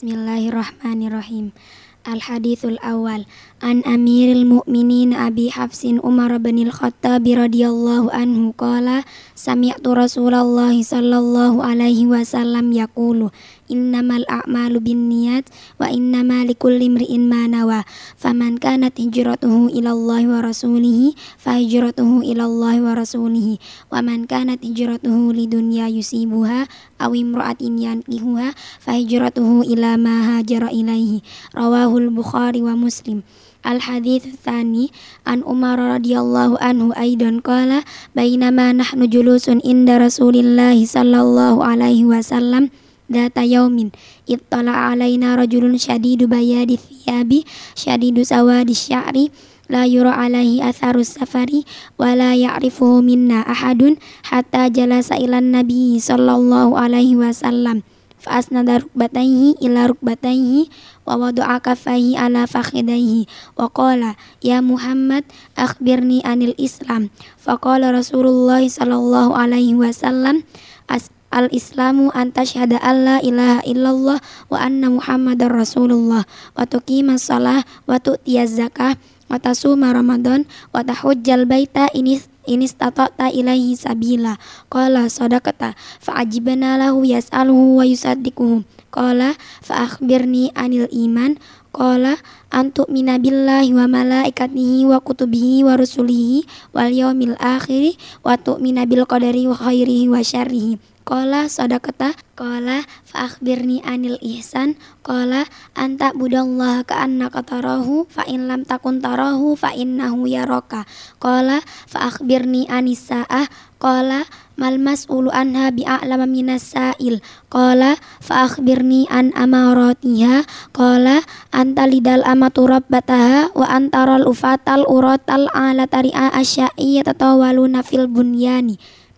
Bismillahirrahmanirrahim. Al-hadithul awal an Amiril Mu'minin Abi Hafsin Umar bin Al-Khattab radhiyallahu anhu qala sami'tu Rasulullah sallallahu alaihi wasallam yaqulu innamal a'malu binniyat wa innama likulli imri'in ma nawa faman kanat hijratuhu ila Allah wa rasulihi fa hijratuhu ila Allah wa rasulihi wa man kanat hijratuhu lidunya yusibuha aw imra'atin yankihuha fa hijratuhu ila ma hajara ilaihi rawahul Bukhari wa Muslim. Al-hadits tsani an Umar radhiyallahu anhu aidan qala bainama nahnu julusun inda Rasulillah sallallahu alaihi wasallam data yaumin ittala alaina rajulun syadidu bayadi thiyabi syadidu sawadi sya'ri la yura alaihi atharus safari wa la ya'rifuhu minna ahadun hatta jalasa ilan nabi sallallahu alaihi wasallam fa asnada rukbatayhi ila rukbatayhi wa wada'a kaffayhi ala fakhidayhi wa qala ya Muhammad akhbirni anil Islam fa qala Rasulullah sallallahu alaihi wasallam al-islamu an tashhada alla ilaha illallah wa anna Muhammadar Rasulullah wa tuqimas shalah wa tu'tiyaz zakah wa tasuma Ramadan wa tahujjal baita ini istata'ta ilaihi sabila. Qala sadaqata fa'ajibna lahu yas'aluhu wa yusaddiquhu. Qala fa'akhbirni anil iman. Qala antu'mina billahi wa malaikatihi wa kutubihi wa rusulihi wal yaumil akhiri wa tu'mina bil qadari wa khairihi wa syarrihi. Qala sadaqata. Qala fa'akhbirni anil ihsan. Qala anta budallaha ka'annaka tarahu fa in lam takun tarahu fa innahu yaraka. Qala fa'akhbirni anis sa'ah. Qala mal mas'ulu anha bi'a'lama minas sa'il. Qala fa'akhbirni an amaratiha. Qala anta lidal amatu rabbataha wa antaral ufatal uratal ala tari'a asya'i yatatawaluna fil bunyani.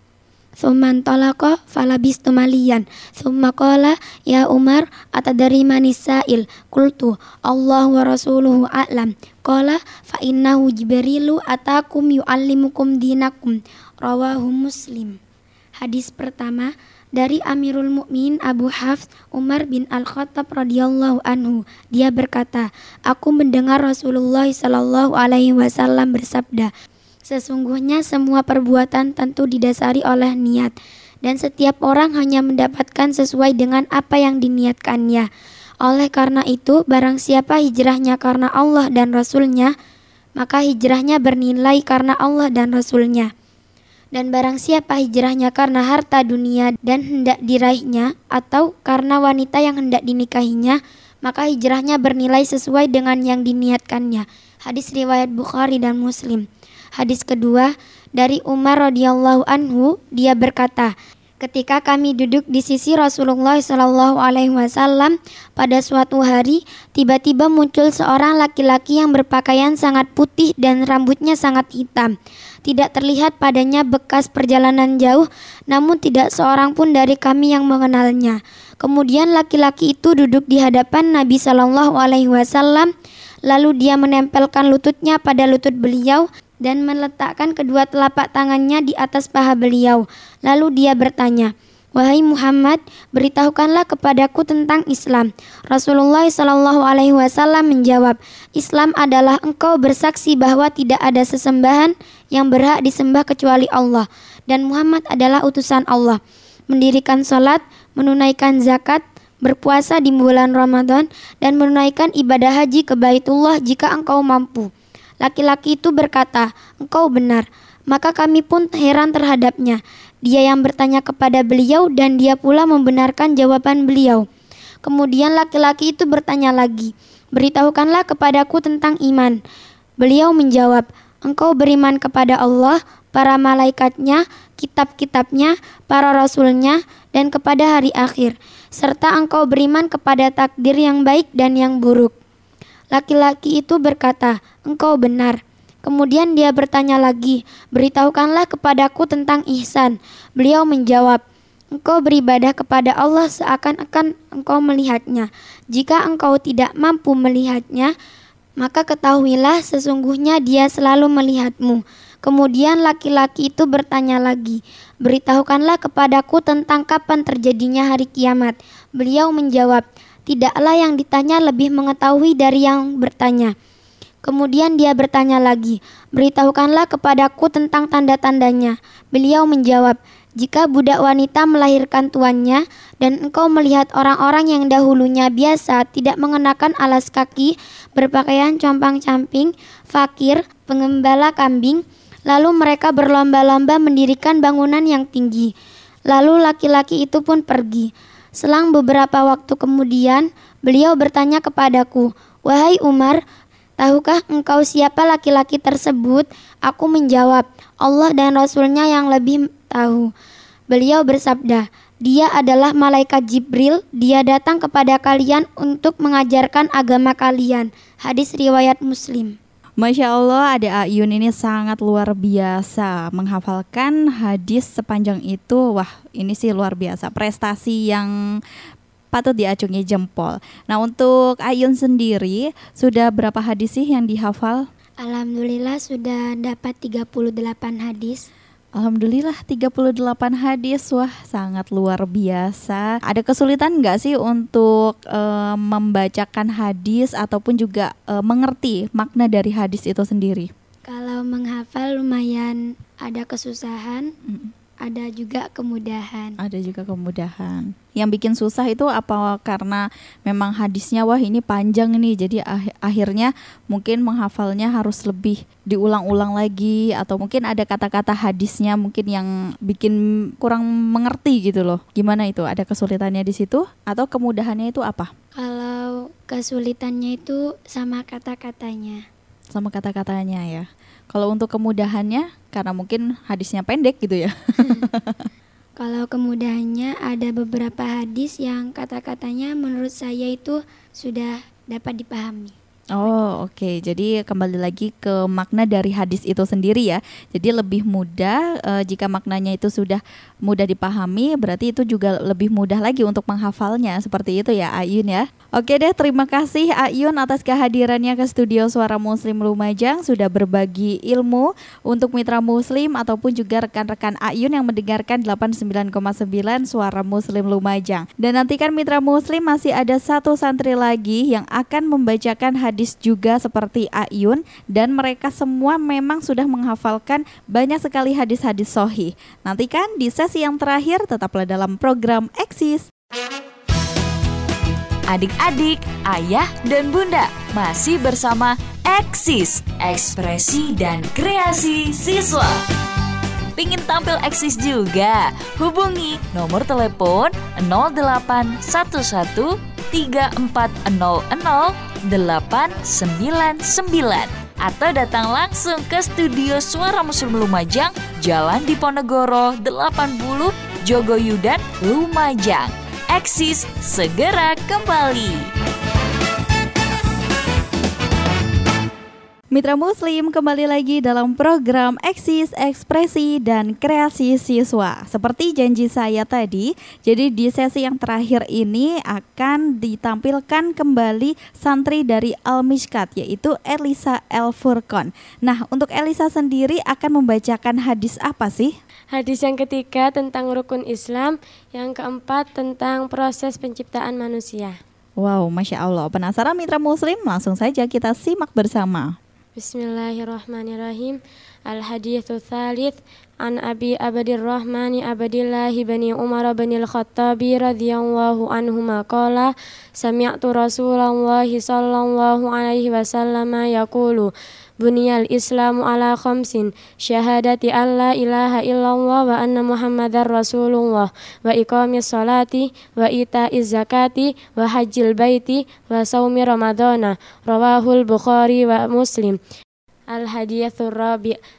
Thumman talaqa falabistu maliyan. Thumma qala ya Umar atadari manis sa'il. Qultu Allah wa rasuluhu a'lam. Qala fa innahu Jibrilu atakum yu'allimukum dinakum. Rawahu Muslim. Hadis pertama dari Amirul Mukminin Abu Hafs Umar bin Al-Khattab radhiyallahu anhu. Dia berkata, aku mendengar Rasulullah sallallahu alaihi wasallam bersabda, sesungguhnya semua perbuatan tentu didasari oleh niat, dan setiap orang hanya mendapatkan sesuai dengan apa yang diniatkannya. Oleh karena itu, barang siapa hijrahnya karena Allah dan Rasul-Nya, maka hijrahnya bernilai karena Allah dan Rasul-Nya. Dan barang siapa hijrahnya karena harta dunia dan hendak diraihnya, atau karena wanita yang hendak dinikahinya, maka hijrahnya bernilai sesuai dengan yang diniatkannya. Hadis riwayat Bukhari dan Muslim. Hadis kedua dari Umar radhiyallahu anhu, dia berkata, ketika kami duduk di sisi Rasulullah sallallahu alaihi wasallam pada suatu hari, tiba-tiba muncul seorang laki-laki yang berpakaian sangat putih dan rambutnya sangat hitam. Tidak terlihat padanya bekas perjalanan jauh, namun tidak seorang pun dari kami yang mengenalnya. Kemudian laki-laki itu duduk di hadapan Nabi sallallahu alaihi wasallam, lalu dia menempelkan lututnya pada lutut beliau dan meletakkan kedua telapak tangannya di atas paha beliau. Lalu dia bertanya, wahai Muhammad, beritahukanlah kepadaku tentang Islam. Rasulullah sallallahu alaihi wasallam menjawab, Islam adalah engkau bersaksi bahwa tidak ada sesembahan yang berhak disembah kecuali Allah, dan Muhammad adalah utusan Allah. Mendirikan salat, menunaikan zakat, berpuasa di bulan Ramadan, dan menunaikan ibadah haji ke Baitullah jika engkau mampu. Laki-laki itu berkata, engkau benar. Maka kami pun heran terhadapnya. Dia yang bertanya kepada beliau dan dia pula membenarkan jawaban beliau. Kemudian laki-laki itu bertanya lagi, beritahukanlah kepadaku tentang iman. Beliau menjawab, engkau beriman kepada Allah, para malaikatnya, kitab-kitabnya, para rasulnya, dan kepada hari akhir, serta engkau beriman kepada takdir yang baik dan yang buruk. Laki-laki itu berkata, engkau benar. Kemudian dia bertanya lagi, beritahukanlah kepadaku tentang ihsan. Beliau menjawab, engkau beribadah kepada Allah seakan-akan engkau melihatnya. Jika engkau tidak mampu melihatnya, maka ketahuilah sesungguhnya dia selalu melihatmu. Kemudian laki-laki itu bertanya lagi, beritahukanlah kepadaku tentang kapan terjadinya hari kiamat. Beliau menjawab, tidaklah yang ditanya lebih mengetahui dari yang bertanya. Kemudian dia bertanya lagi, beritahukanlah kepadaku tentang tanda-tandanya. Beliau menjawab, jika budak wanita melahirkan tuannya dan engkau melihat orang-orang yang dahulunya biasa tidak mengenakan alas kaki, berpakaian compang-camping, fakir, pengembala kambing, lalu mereka berlomba-lomba mendirikan bangunan yang tinggi. Lalu laki-laki itu pun pergi. Selang beberapa waktu kemudian, beliau bertanya kepadaku, wahai Umar, tahukah engkau siapa laki-laki tersebut? Aku menjawab, Allah dan Rasulnya yang lebih tahu. Beliau bersabda, dia adalah malaikat Jibril, dia datang kepada kalian untuk mengajarkan agama kalian. Hadis riwayat Muslim. Masya Allah, Ade Ayun ini sangat luar biasa menghafalkan hadis sepanjang itu. Wah, ini sih luar biasa, prestasi yang patut diacungi jempol. Nah, untuk Ayun sendiri sudah berapa hadis sih yang dihafal? Alhamdulillah sudah dapat 38 hadis. Alhamdulillah 38 hadis. Wah, sangat luar biasa. Ada kesulitan nggak sih untuk membacakan hadis ataupun juga mengerti makna dari hadis itu sendiri? Kalau menghafal lumayan ada kesusahan, ada juga kemudahan. Ada juga kemudahan. Yang bikin susah itu apa karena memang hadisnya wah ini panjang nih, jadi akhirnya mungkin menghafalnya harus lebih diulang-ulang lagi, atau mungkin ada kata-kata hadisnya mungkin yang bikin kurang mengerti gitu loh. Gimana itu? Ada kesulitannya di situ atau kemudahannya itu apa? Kalau kesulitannya itu sama kata-katanya. Sama kata-katanya ya. Kalau untuk kemudahannya karena mungkin hadisnya pendek gitu ya. Kalau kemudahannya ada beberapa hadis yang kata-katanya menurut saya itu sudah dapat dipahami. Oh, oke. Jadi kembali lagi ke makna dari hadis itu sendiri ya. Jadi lebih mudah jika maknanya itu sudah mudah dipahami, berarti itu juga lebih mudah lagi untuk menghafalnya. Seperti itu ya Ayun ya. Oke deh, terima kasih Ayun atas kehadirannya ke studio Suara Muslim Lumajang, sudah berbagi ilmu untuk mitra muslim ataupun juga rekan-rekan Ayun yang mendengarkan 89,9 Suara Muslim Lumajang. Dan nantikan mitra muslim masih ada satu santri lagi yang akan membacakan hadis juga seperti Ayun, dan mereka semua memang sudah menghafalkan banyak sekali hadis-hadis sahih. Nantikan di sesi yang terakhir, tetaplah dalam program Eksis. Adik-adik, ayah dan bunda masih bersama Eksis, ekspresi dan kreasi siswa. Pingin tampil eksis juga? Hubungi nomor telepon 0811 3400 899 atau datang langsung ke studio Suara Muslim Lumajang, Jalan Diponegoro 80, Jogoyudan, Lumajang. Eksis segera kembali. Mitra Muslim, kembali lagi dalam program Eksis, Ekspresi dan Kreasi Siswa. Seperti janji saya tadi, jadi di sesi yang terakhir ini akan ditampilkan kembali santri dari Al-Mishkat, yaitu Elisa El Furqon. Nah, untuk Elisa sendiri akan membacakan hadis apa sih? Hadis yang ketiga tentang rukun Islam, yang keempat tentang proses penciptaan manusia. Wow, Masya Allah. Penasaran mitra Muslim? Langsung saja kita simak bersama. Bismillahirrahmanirrahim. Al-hadithu tsalits an Abi Abdirrahman Abdillah bin Umar bin Al-Khattabi radhiyallahu anhuma qala sami'tu Rasulullah sallallahu alaihi wasallam yaqulu buniyal Islamu ala khamsin syahadati alla ilaha illallah wa anna Muhammadar Rasulullah wa iqamis salati wa ita'iz zakati wa hajjil baiti wa saumi ramadhana rawahul Bukhari wa Muslim. Al-haditsul rabi'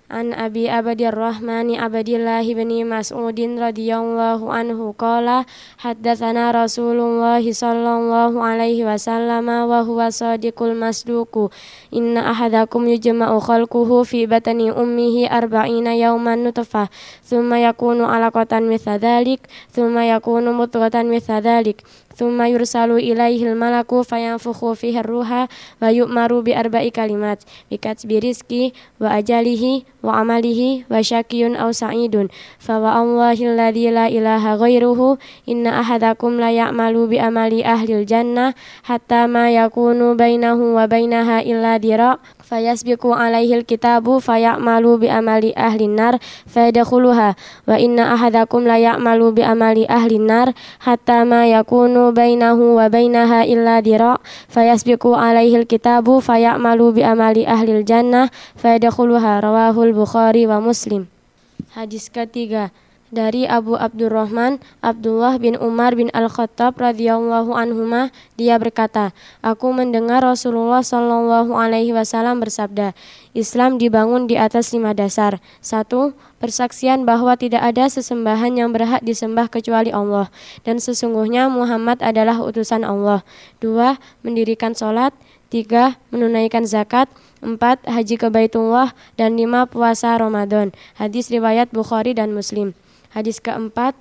an Abi Abdirrahman Abdillah bin Mas'ud radhiyallahu anhu qala haddatsana Rasulullah sallallahu alaihi wasallam wa huwa shadiqul masduq inna ahadakum yujma'u khalquhu fi batni ummihi 40 yawman nutfah thumma yakunu 'alaqatan mithla dhalik thumma yakunu mudghatan mithla dhalik thumma yursalu ilaihil malaku fayanfukhu fihi ruha wa yu'maru bi arba'i kalimat bi katsbi rizqi wa ajalihi wa amalihi wa syakiyun aw sa'idun fa wa Allahi alladzi la ilaha ghairuhu inna ahadakum la ya'malu bi amali ahlil jannah hatta ma yakunu bainahu wa bainaha illa dira' fayasbiqu alaihil kitabu fayamalu bi amali ahlin nar fayadkhuluha wa inna ahadakum la ya'malu bi amali ahlin nar hatta ma yakunu bainahu wa bainaha illa dira' fayasbiqu alaihil kitabu fayamalu bi amali ahlil jannah fayadkhuluha rawahul Bukhari wa Muslim. Hadis ketiga dari Abu Abdurrahman Abdullah bin Umar bin Al-Khattab radhiyallahu anhuma, dia berkata, aku mendengar Rasulullah sallallahu alaihi wasallam bersabda, Islam dibangun di atas 5 dasar. 1. Persaksian bahwa tidak ada sesembahan yang berhak disembah kecuali Allah dan sesungguhnya Muhammad adalah utusan Allah. 2. Mendirikan sholat. 3. Menunaikan zakat. 4. Haji ke Baitullah. Dan 5. Puasa Ramadan. Hadis riwayat Bukhari dan Muslim. Hadis keempat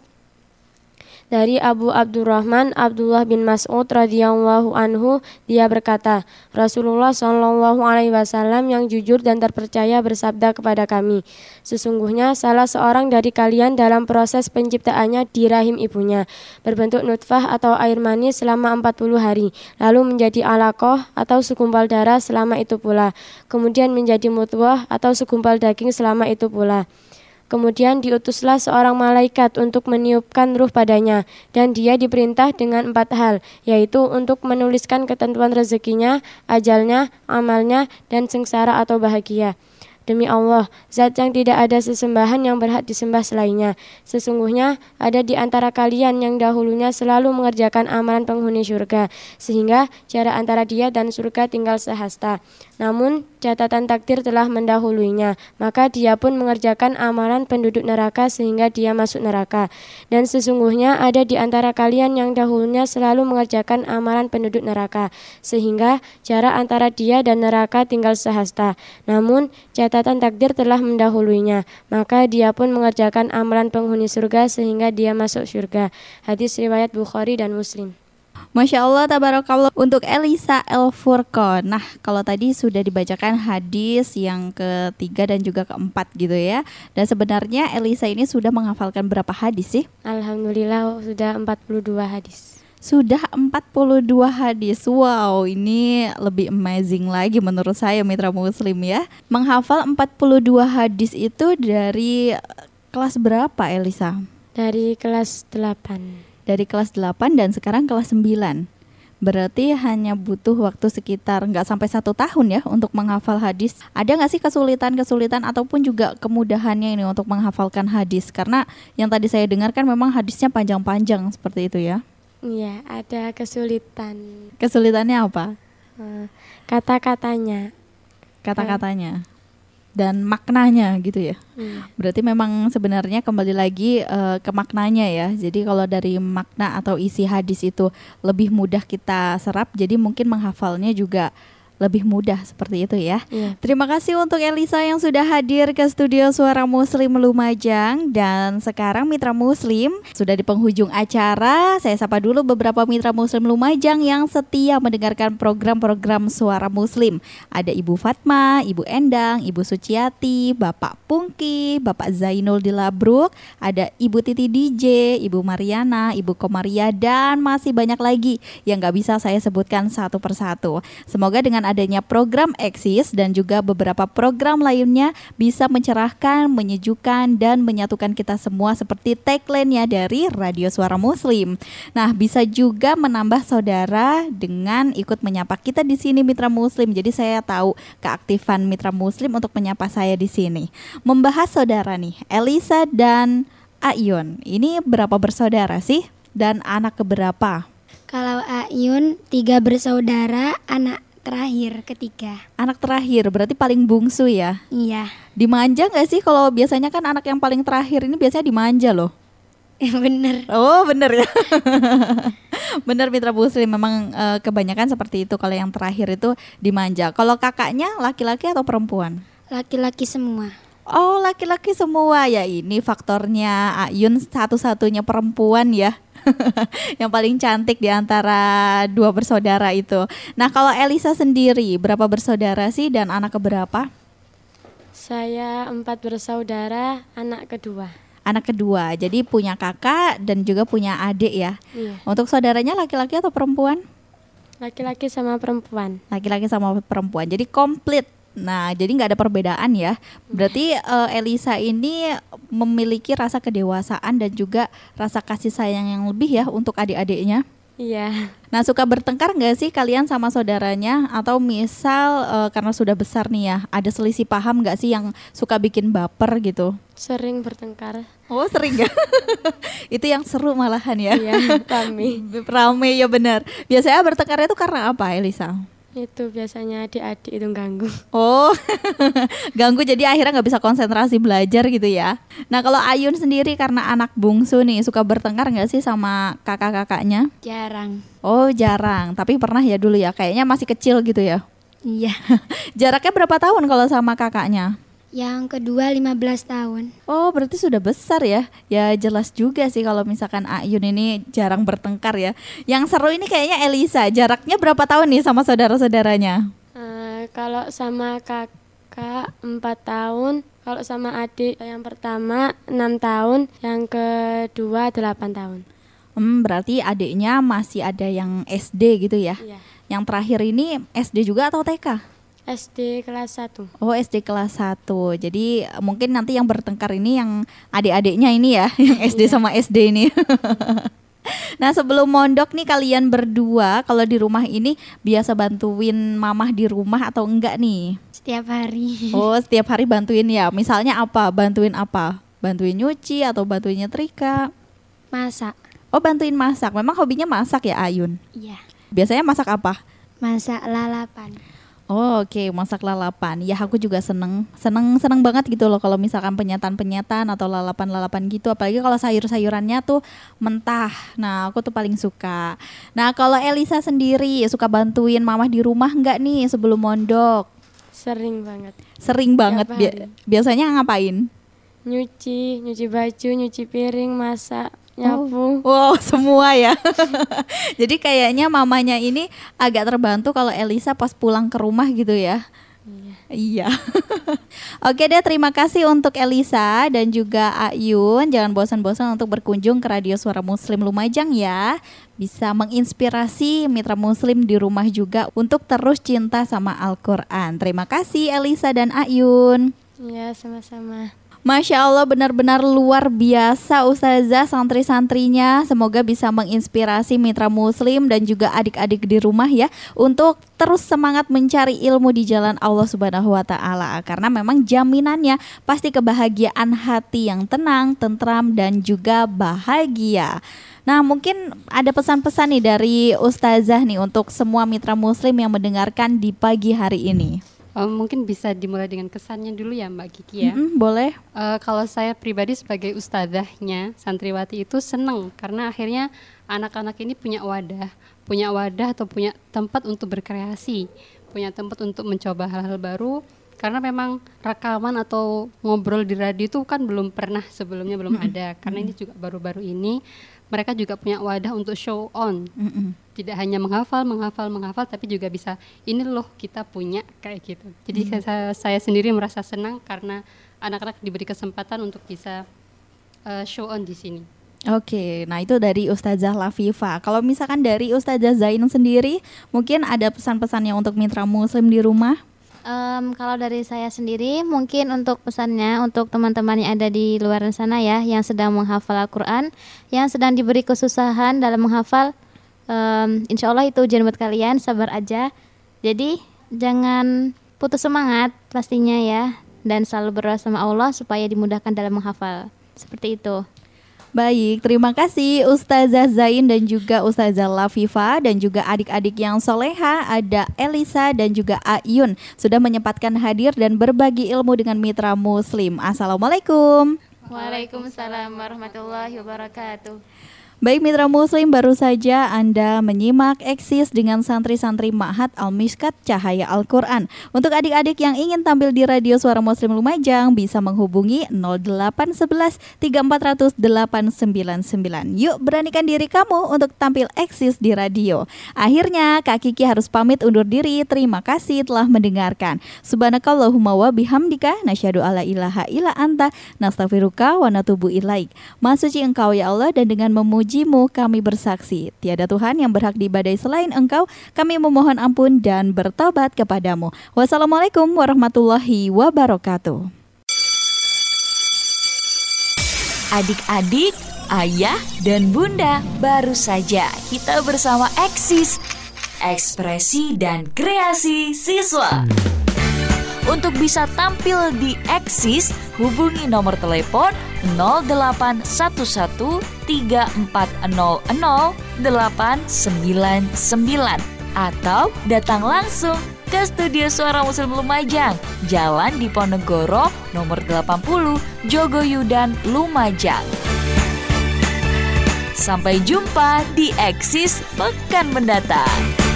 dari Abu Abdurrahman Abdullah bin Mas'ud radhiyallahu anhu, dia berkata, Rasulullah sallallahu alaihi wasallam yang jujur dan terpercaya bersabda kepada kami, sesungguhnya salah seorang dari kalian dalam proses penciptaannya di rahim ibunya berbentuk nutfah atau air mani selama 40 hari, lalu menjadi alaqah atau segumpal darah selama itu pula, kemudian menjadi mudghah atau segumpal daging selama itu pula. Kemudian diutuslah seorang malaikat untuk meniupkan ruh padanya, dan dia diperintah dengan 4 hal, yaitu untuk menuliskan ketentuan rezekinya, ajalnya, amalnya, dan sengsara atau bahagia. Demi Allah, zat yang tidak ada sesembahan yang berhak disembah selainnya. Sesungguhnya ada di antara kalian yang dahulunya selalu mengerjakan amalan penghuni surga, sehingga jarak antara dia dan surga tinggal sehasta. Namun catatan takdir telah mendahuluinya, maka dia pun mengerjakan amalan penduduk neraka sehingga dia masuk neraka. Dan sesungguhnya ada di antara kalian yang dahulunya selalu mengerjakan amalan penduduk neraka, sehingga jarak antara dia dan neraka tinggal sehasta. Namun catatan takdir telah mendahuluinya, maka dia pun mengerjakan amalan penghuni surga sehingga dia masuk surga. Hadis riwayat Bukhari dan Muslim. Masya Allah, tabarakallah untuk Elisa El Furqon. Nah, kalau tadi sudah dibacakan hadis yang ketiga dan juga keempat gitu ya. Dan sebenarnya Elisa ini sudah menghafalkan berapa hadis sih? Alhamdulillah sudah 42 hadis. Sudah 42 hadis. Wow, ini lebih amazing lagi menurut saya mitra muslim ya. Menghafal 42 hadis itu dari kelas berapa Elisa? Dari kelas 8. Dari kelas 8 dan sekarang kelas 9. Berarti hanya butuh waktu sekitar nggak sampai 1 tahun ya untuk menghafal hadis. Ada nggak sih kesulitan-kesulitan ataupun juga kemudahannya ini untuk menghafalkan hadis? Karena yang tadi saya dengar kan memang hadisnya panjang-panjang seperti itu ya. Iya, ada kesulitan. Kesulitannya apa? Kata-katanya. Kata-katanya. Dan maknanya gitu ya. Berarti memang sebenarnya kembali lagi ke maknanya ya. Jadi kalau dari makna atau isi hadis itu lebih mudah kita serap, jadi mungkin menghafalnya juga lebih mudah seperti itu ya. Terima kasih untuk Elisa yang sudah hadir ke studio Suara Muslim Lumajang. Dan sekarang mitra muslim sudah di penghujung acara. Saya sapa dulu beberapa mitra muslim Lumajang yang setia mendengarkan program-program Suara Muslim. Ada Ibu Fatma, Ibu Endang, Ibu Suciati, Bapak Pungki, Bapak Zainul di Labruk, ada Ibu Titi DJ, Ibu Mariana, Ibu Komaria, dan masih banyak lagi yang gak bisa saya sebutkan satu persatu. Semoga dengan adanya program Eksis dan juga beberapa program lainnya bisa mencerahkan, menyejukkan, dan menyatukan kita semua seperti tagline-nya dari Radio Suara Muslim. Nah, bisa juga menambah saudara dengan ikut menyapa kita di sini mitra muslim. Jadi saya tahu keaktifan mitra muslim untuk menyapa saya di sini. Membahas saudara nih, Elisa dan Ayun. Ini berapa bersaudara sih? Dan anak keberapa? Kalau Ayun 3 bersaudara, anak terakhir, ketiga. Anak terakhir, berarti paling bungsu ya. Iya. Dimanja nggak sih? Kalau biasanya kan anak yang paling terakhir ini biasanya dimanja loh. Bener. Oh bener ya. Bener Mitra Muslim, memang kebanyakan seperti itu. Kalau yang terakhir itu dimanja. Kalau kakaknya laki-laki atau perempuan? Laki-laki semua. Oh laki-laki semua ya, ini faktornya Ayun satu-satunya perempuan ya. Yang paling cantik di antara dua bersaudara itu. Nah kalau Elisa sendiri berapa bersaudara sih dan anak keberapa? Saya 4 bersaudara, anak kedua. Anak kedua, jadi punya kakak dan juga punya adik ya. Iya. Untuk saudaranya laki-laki atau perempuan? Laki-laki sama perempuan. Laki-laki sama perempuan, jadi komplit. Nah, jadi nggak ada perbedaan ya. Berarti Elisa ini memiliki rasa kedewasaan dan juga rasa kasih sayang yang lebih ya untuk adik-adiknya. Iya. Nah, suka bertengkar nggak sih kalian sama saudaranya? Atau misal karena sudah besar nih ya, ada selisih paham nggak sih yang suka bikin baper gitu? Sering bertengkar. Oh sering ya? Itu yang seru malahan ya. Iya, kami. Rame ya benar. Biasanya bertengkarnya itu karena apa Elisa? Itu biasanya adik-adik itu ganggu. Oh ganggu, jadi akhirnya nggak bisa konsentrasi belajar gitu ya. Nah kalau Ayun sendiri karena anak bungsu nih, suka bertengkar nggak sih sama kakak-kakaknya? Jarang. Oh jarang, tapi pernah ya dulu ya, kayaknya masih kecil gitu ya. Iya. Jaraknya berapa tahun kalau sama kakaknya? Yang kedua 15 tahun. Oh berarti sudah besar ya. Ya jelas juga sih kalau misalkan Ayun ini jarang bertengkar ya. Yang seru ini kayaknya Elisa. Jaraknya berapa tahun nih sama saudara-saudaranya? Kalau sama kakak 4 tahun, kalau sama adik yang pertama 6 tahun, yang kedua 8 tahun. Berarti adiknya masih ada yang SD gitu ya. Iya. Yang terakhir ini SD juga atau TK? SD kelas 1. Oh SD kelas 1. Jadi mungkin nanti yang bertengkar ini yang adik-adiknya ini ya, yang SD sama SD ini. Nah sebelum mondok nih kalian berdua kalau di rumah ini biasa bantuin mamah di rumah atau enggak nih? Setiap hari. Oh setiap hari bantuin ya. Misalnya apa? Bantuin apa? Bantuin nyuci atau bantuin nyetrika? Masak. Oh bantuin masak. Memang hobinya masak ya Ayun? Iya. Biasanya masak apa? Masak lalapan. Oh oke, masak lalapan. Ya aku juga seneng banget gitu loh kalau misalkan penyetan atau lalapan gitu. Apalagi kalau sayur-sayurannya tuh mentah. Nah aku tuh paling suka. Nah kalau Elisa sendiri suka bantuin mamah di rumah nggak nih sebelum mondok? Sering banget. Sering banget. Tiap hari. Biasanya ngapain? Nyuci baju, nyuci piring, masak, nyapu. Wow semua ya. Jadi kayaknya mamanya ini agak terbantu kalau Elisa pas pulang ke rumah gitu ya. Iya. Oke deh, terima kasih untuk Elisa dan juga Ayun. Jangan bosan-bosan untuk berkunjung ke Radio Suara Muslim Lumajang ya. Bisa menginspirasi mitra muslim di rumah juga untuk terus cinta sama Al-Quran. Terima kasih Elisa dan Ayun. Iya, sama-sama. Masya Allah benar-benar luar biasa Ustazah santri-santrinya. Semoga bisa menginspirasi mitra muslim dan juga adik-adik di rumah ya, untuk terus semangat mencari ilmu di jalan Allah Subhanahu wa Ta'ala. Karena memang jaminannya pasti kebahagiaan hati yang tenang, tentram dan juga bahagia. Nah mungkin ada pesan-pesan nih dari Ustazah nih untuk semua mitra muslim yang mendengarkan di pagi hari ini. Mungkin bisa dimulai dengan kesannya dulu ya Mbak Kiki ya. Boleh. Kalau saya pribadi sebagai ustadzahnya santriwati itu seneng karena akhirnya anak-anak ini punya wadah atau punya tempat untuk berkreasi, punya tempat untuk mencoba hal-hal baru. Karena memang rekaman atau ngobrol di radio itu kan belum pernah sebelumnya, belum ada. Karena ini juga baru-baru ini mereka juga punya wadah untuk show on. Tidak hanya menghafal, tapi juga bisa ini loh kita punya kayak gitu. Jadi saya sendiri merasa senang karena anak-anak diberi kesempatan untuk bisa show on di sini. Oke, nah itu dari Ustazah Lafifa. Kalau misalkan dari Ustazah Zain sendiri, mungkin ada pesan-pesannya untuk mitra muslim di rumah? Kalau dari saya sendiri, mungkin untuk pesannya untuk teman-teman yang ada di luar sana ya, yang sedang menghafal Al-Quran, yang sedang diberi kesusahan dalam menghafal, insya Allah itu ujian buat kalian, sabar aja. Jadi jangan putus semangat pastinya ya, dan selalu berdoa sama Allah supaya dimudahkan dalam menghafal. Seperti itu. Baik, terima kasih Ustazah Zain dan juga Ustazah Lafifa dan juga adik-adik yang soleha, ada Elisa dan juga Ayun sudah menyempatkan hadir dan berbagi ilmu dengan Mitra Muslim. Assalamualaikum. Waalaikumsalam warahmatullahi wabarakatuh. Baik Mitra Muslim, baru saja Anda menyimak Eksis dengan santri-santri Ma'had Al-Mishkat Cahaya Al-Quran. Untuk adik-adik yang ingin tampil di Radio Suara Muslim Lumajang bisa menghubungi 0811 3400 899. Yuk beranikan diri kamu untuk tampil Eksis di radio. Akhirnya Kak Kiki harus pamit undur diri. Terima kasih telah mendengarkan. Subhanakallahumma wa bihamdika nasyhadu alla ilaha illa anta nastaghfiruka wa natubu ilaik. Maha suci Engkau ya Allah, dan dengan memuji kami bersaksi tiada Tuhan yang berhak diibadahi selain Engkau. Kami memohon ampun dan bertobat kepadamu. Wassalamualaikum warahmatullahi wabarakatuh. Adik-adik, ayah dan bunda, baru saja kita bersama Eksis, ekspresi dan kreasi siswa. Untuk bisa tampil di Eksis, hubungi nomor telepon 0811 3400 899 atau datang langsung ke Studio Suara Muslim Lumajang, Jalan Diponegoro nomor 80, Jogoyudan, Lumajang. Sampai jumpa di Eksis pekan mendatang.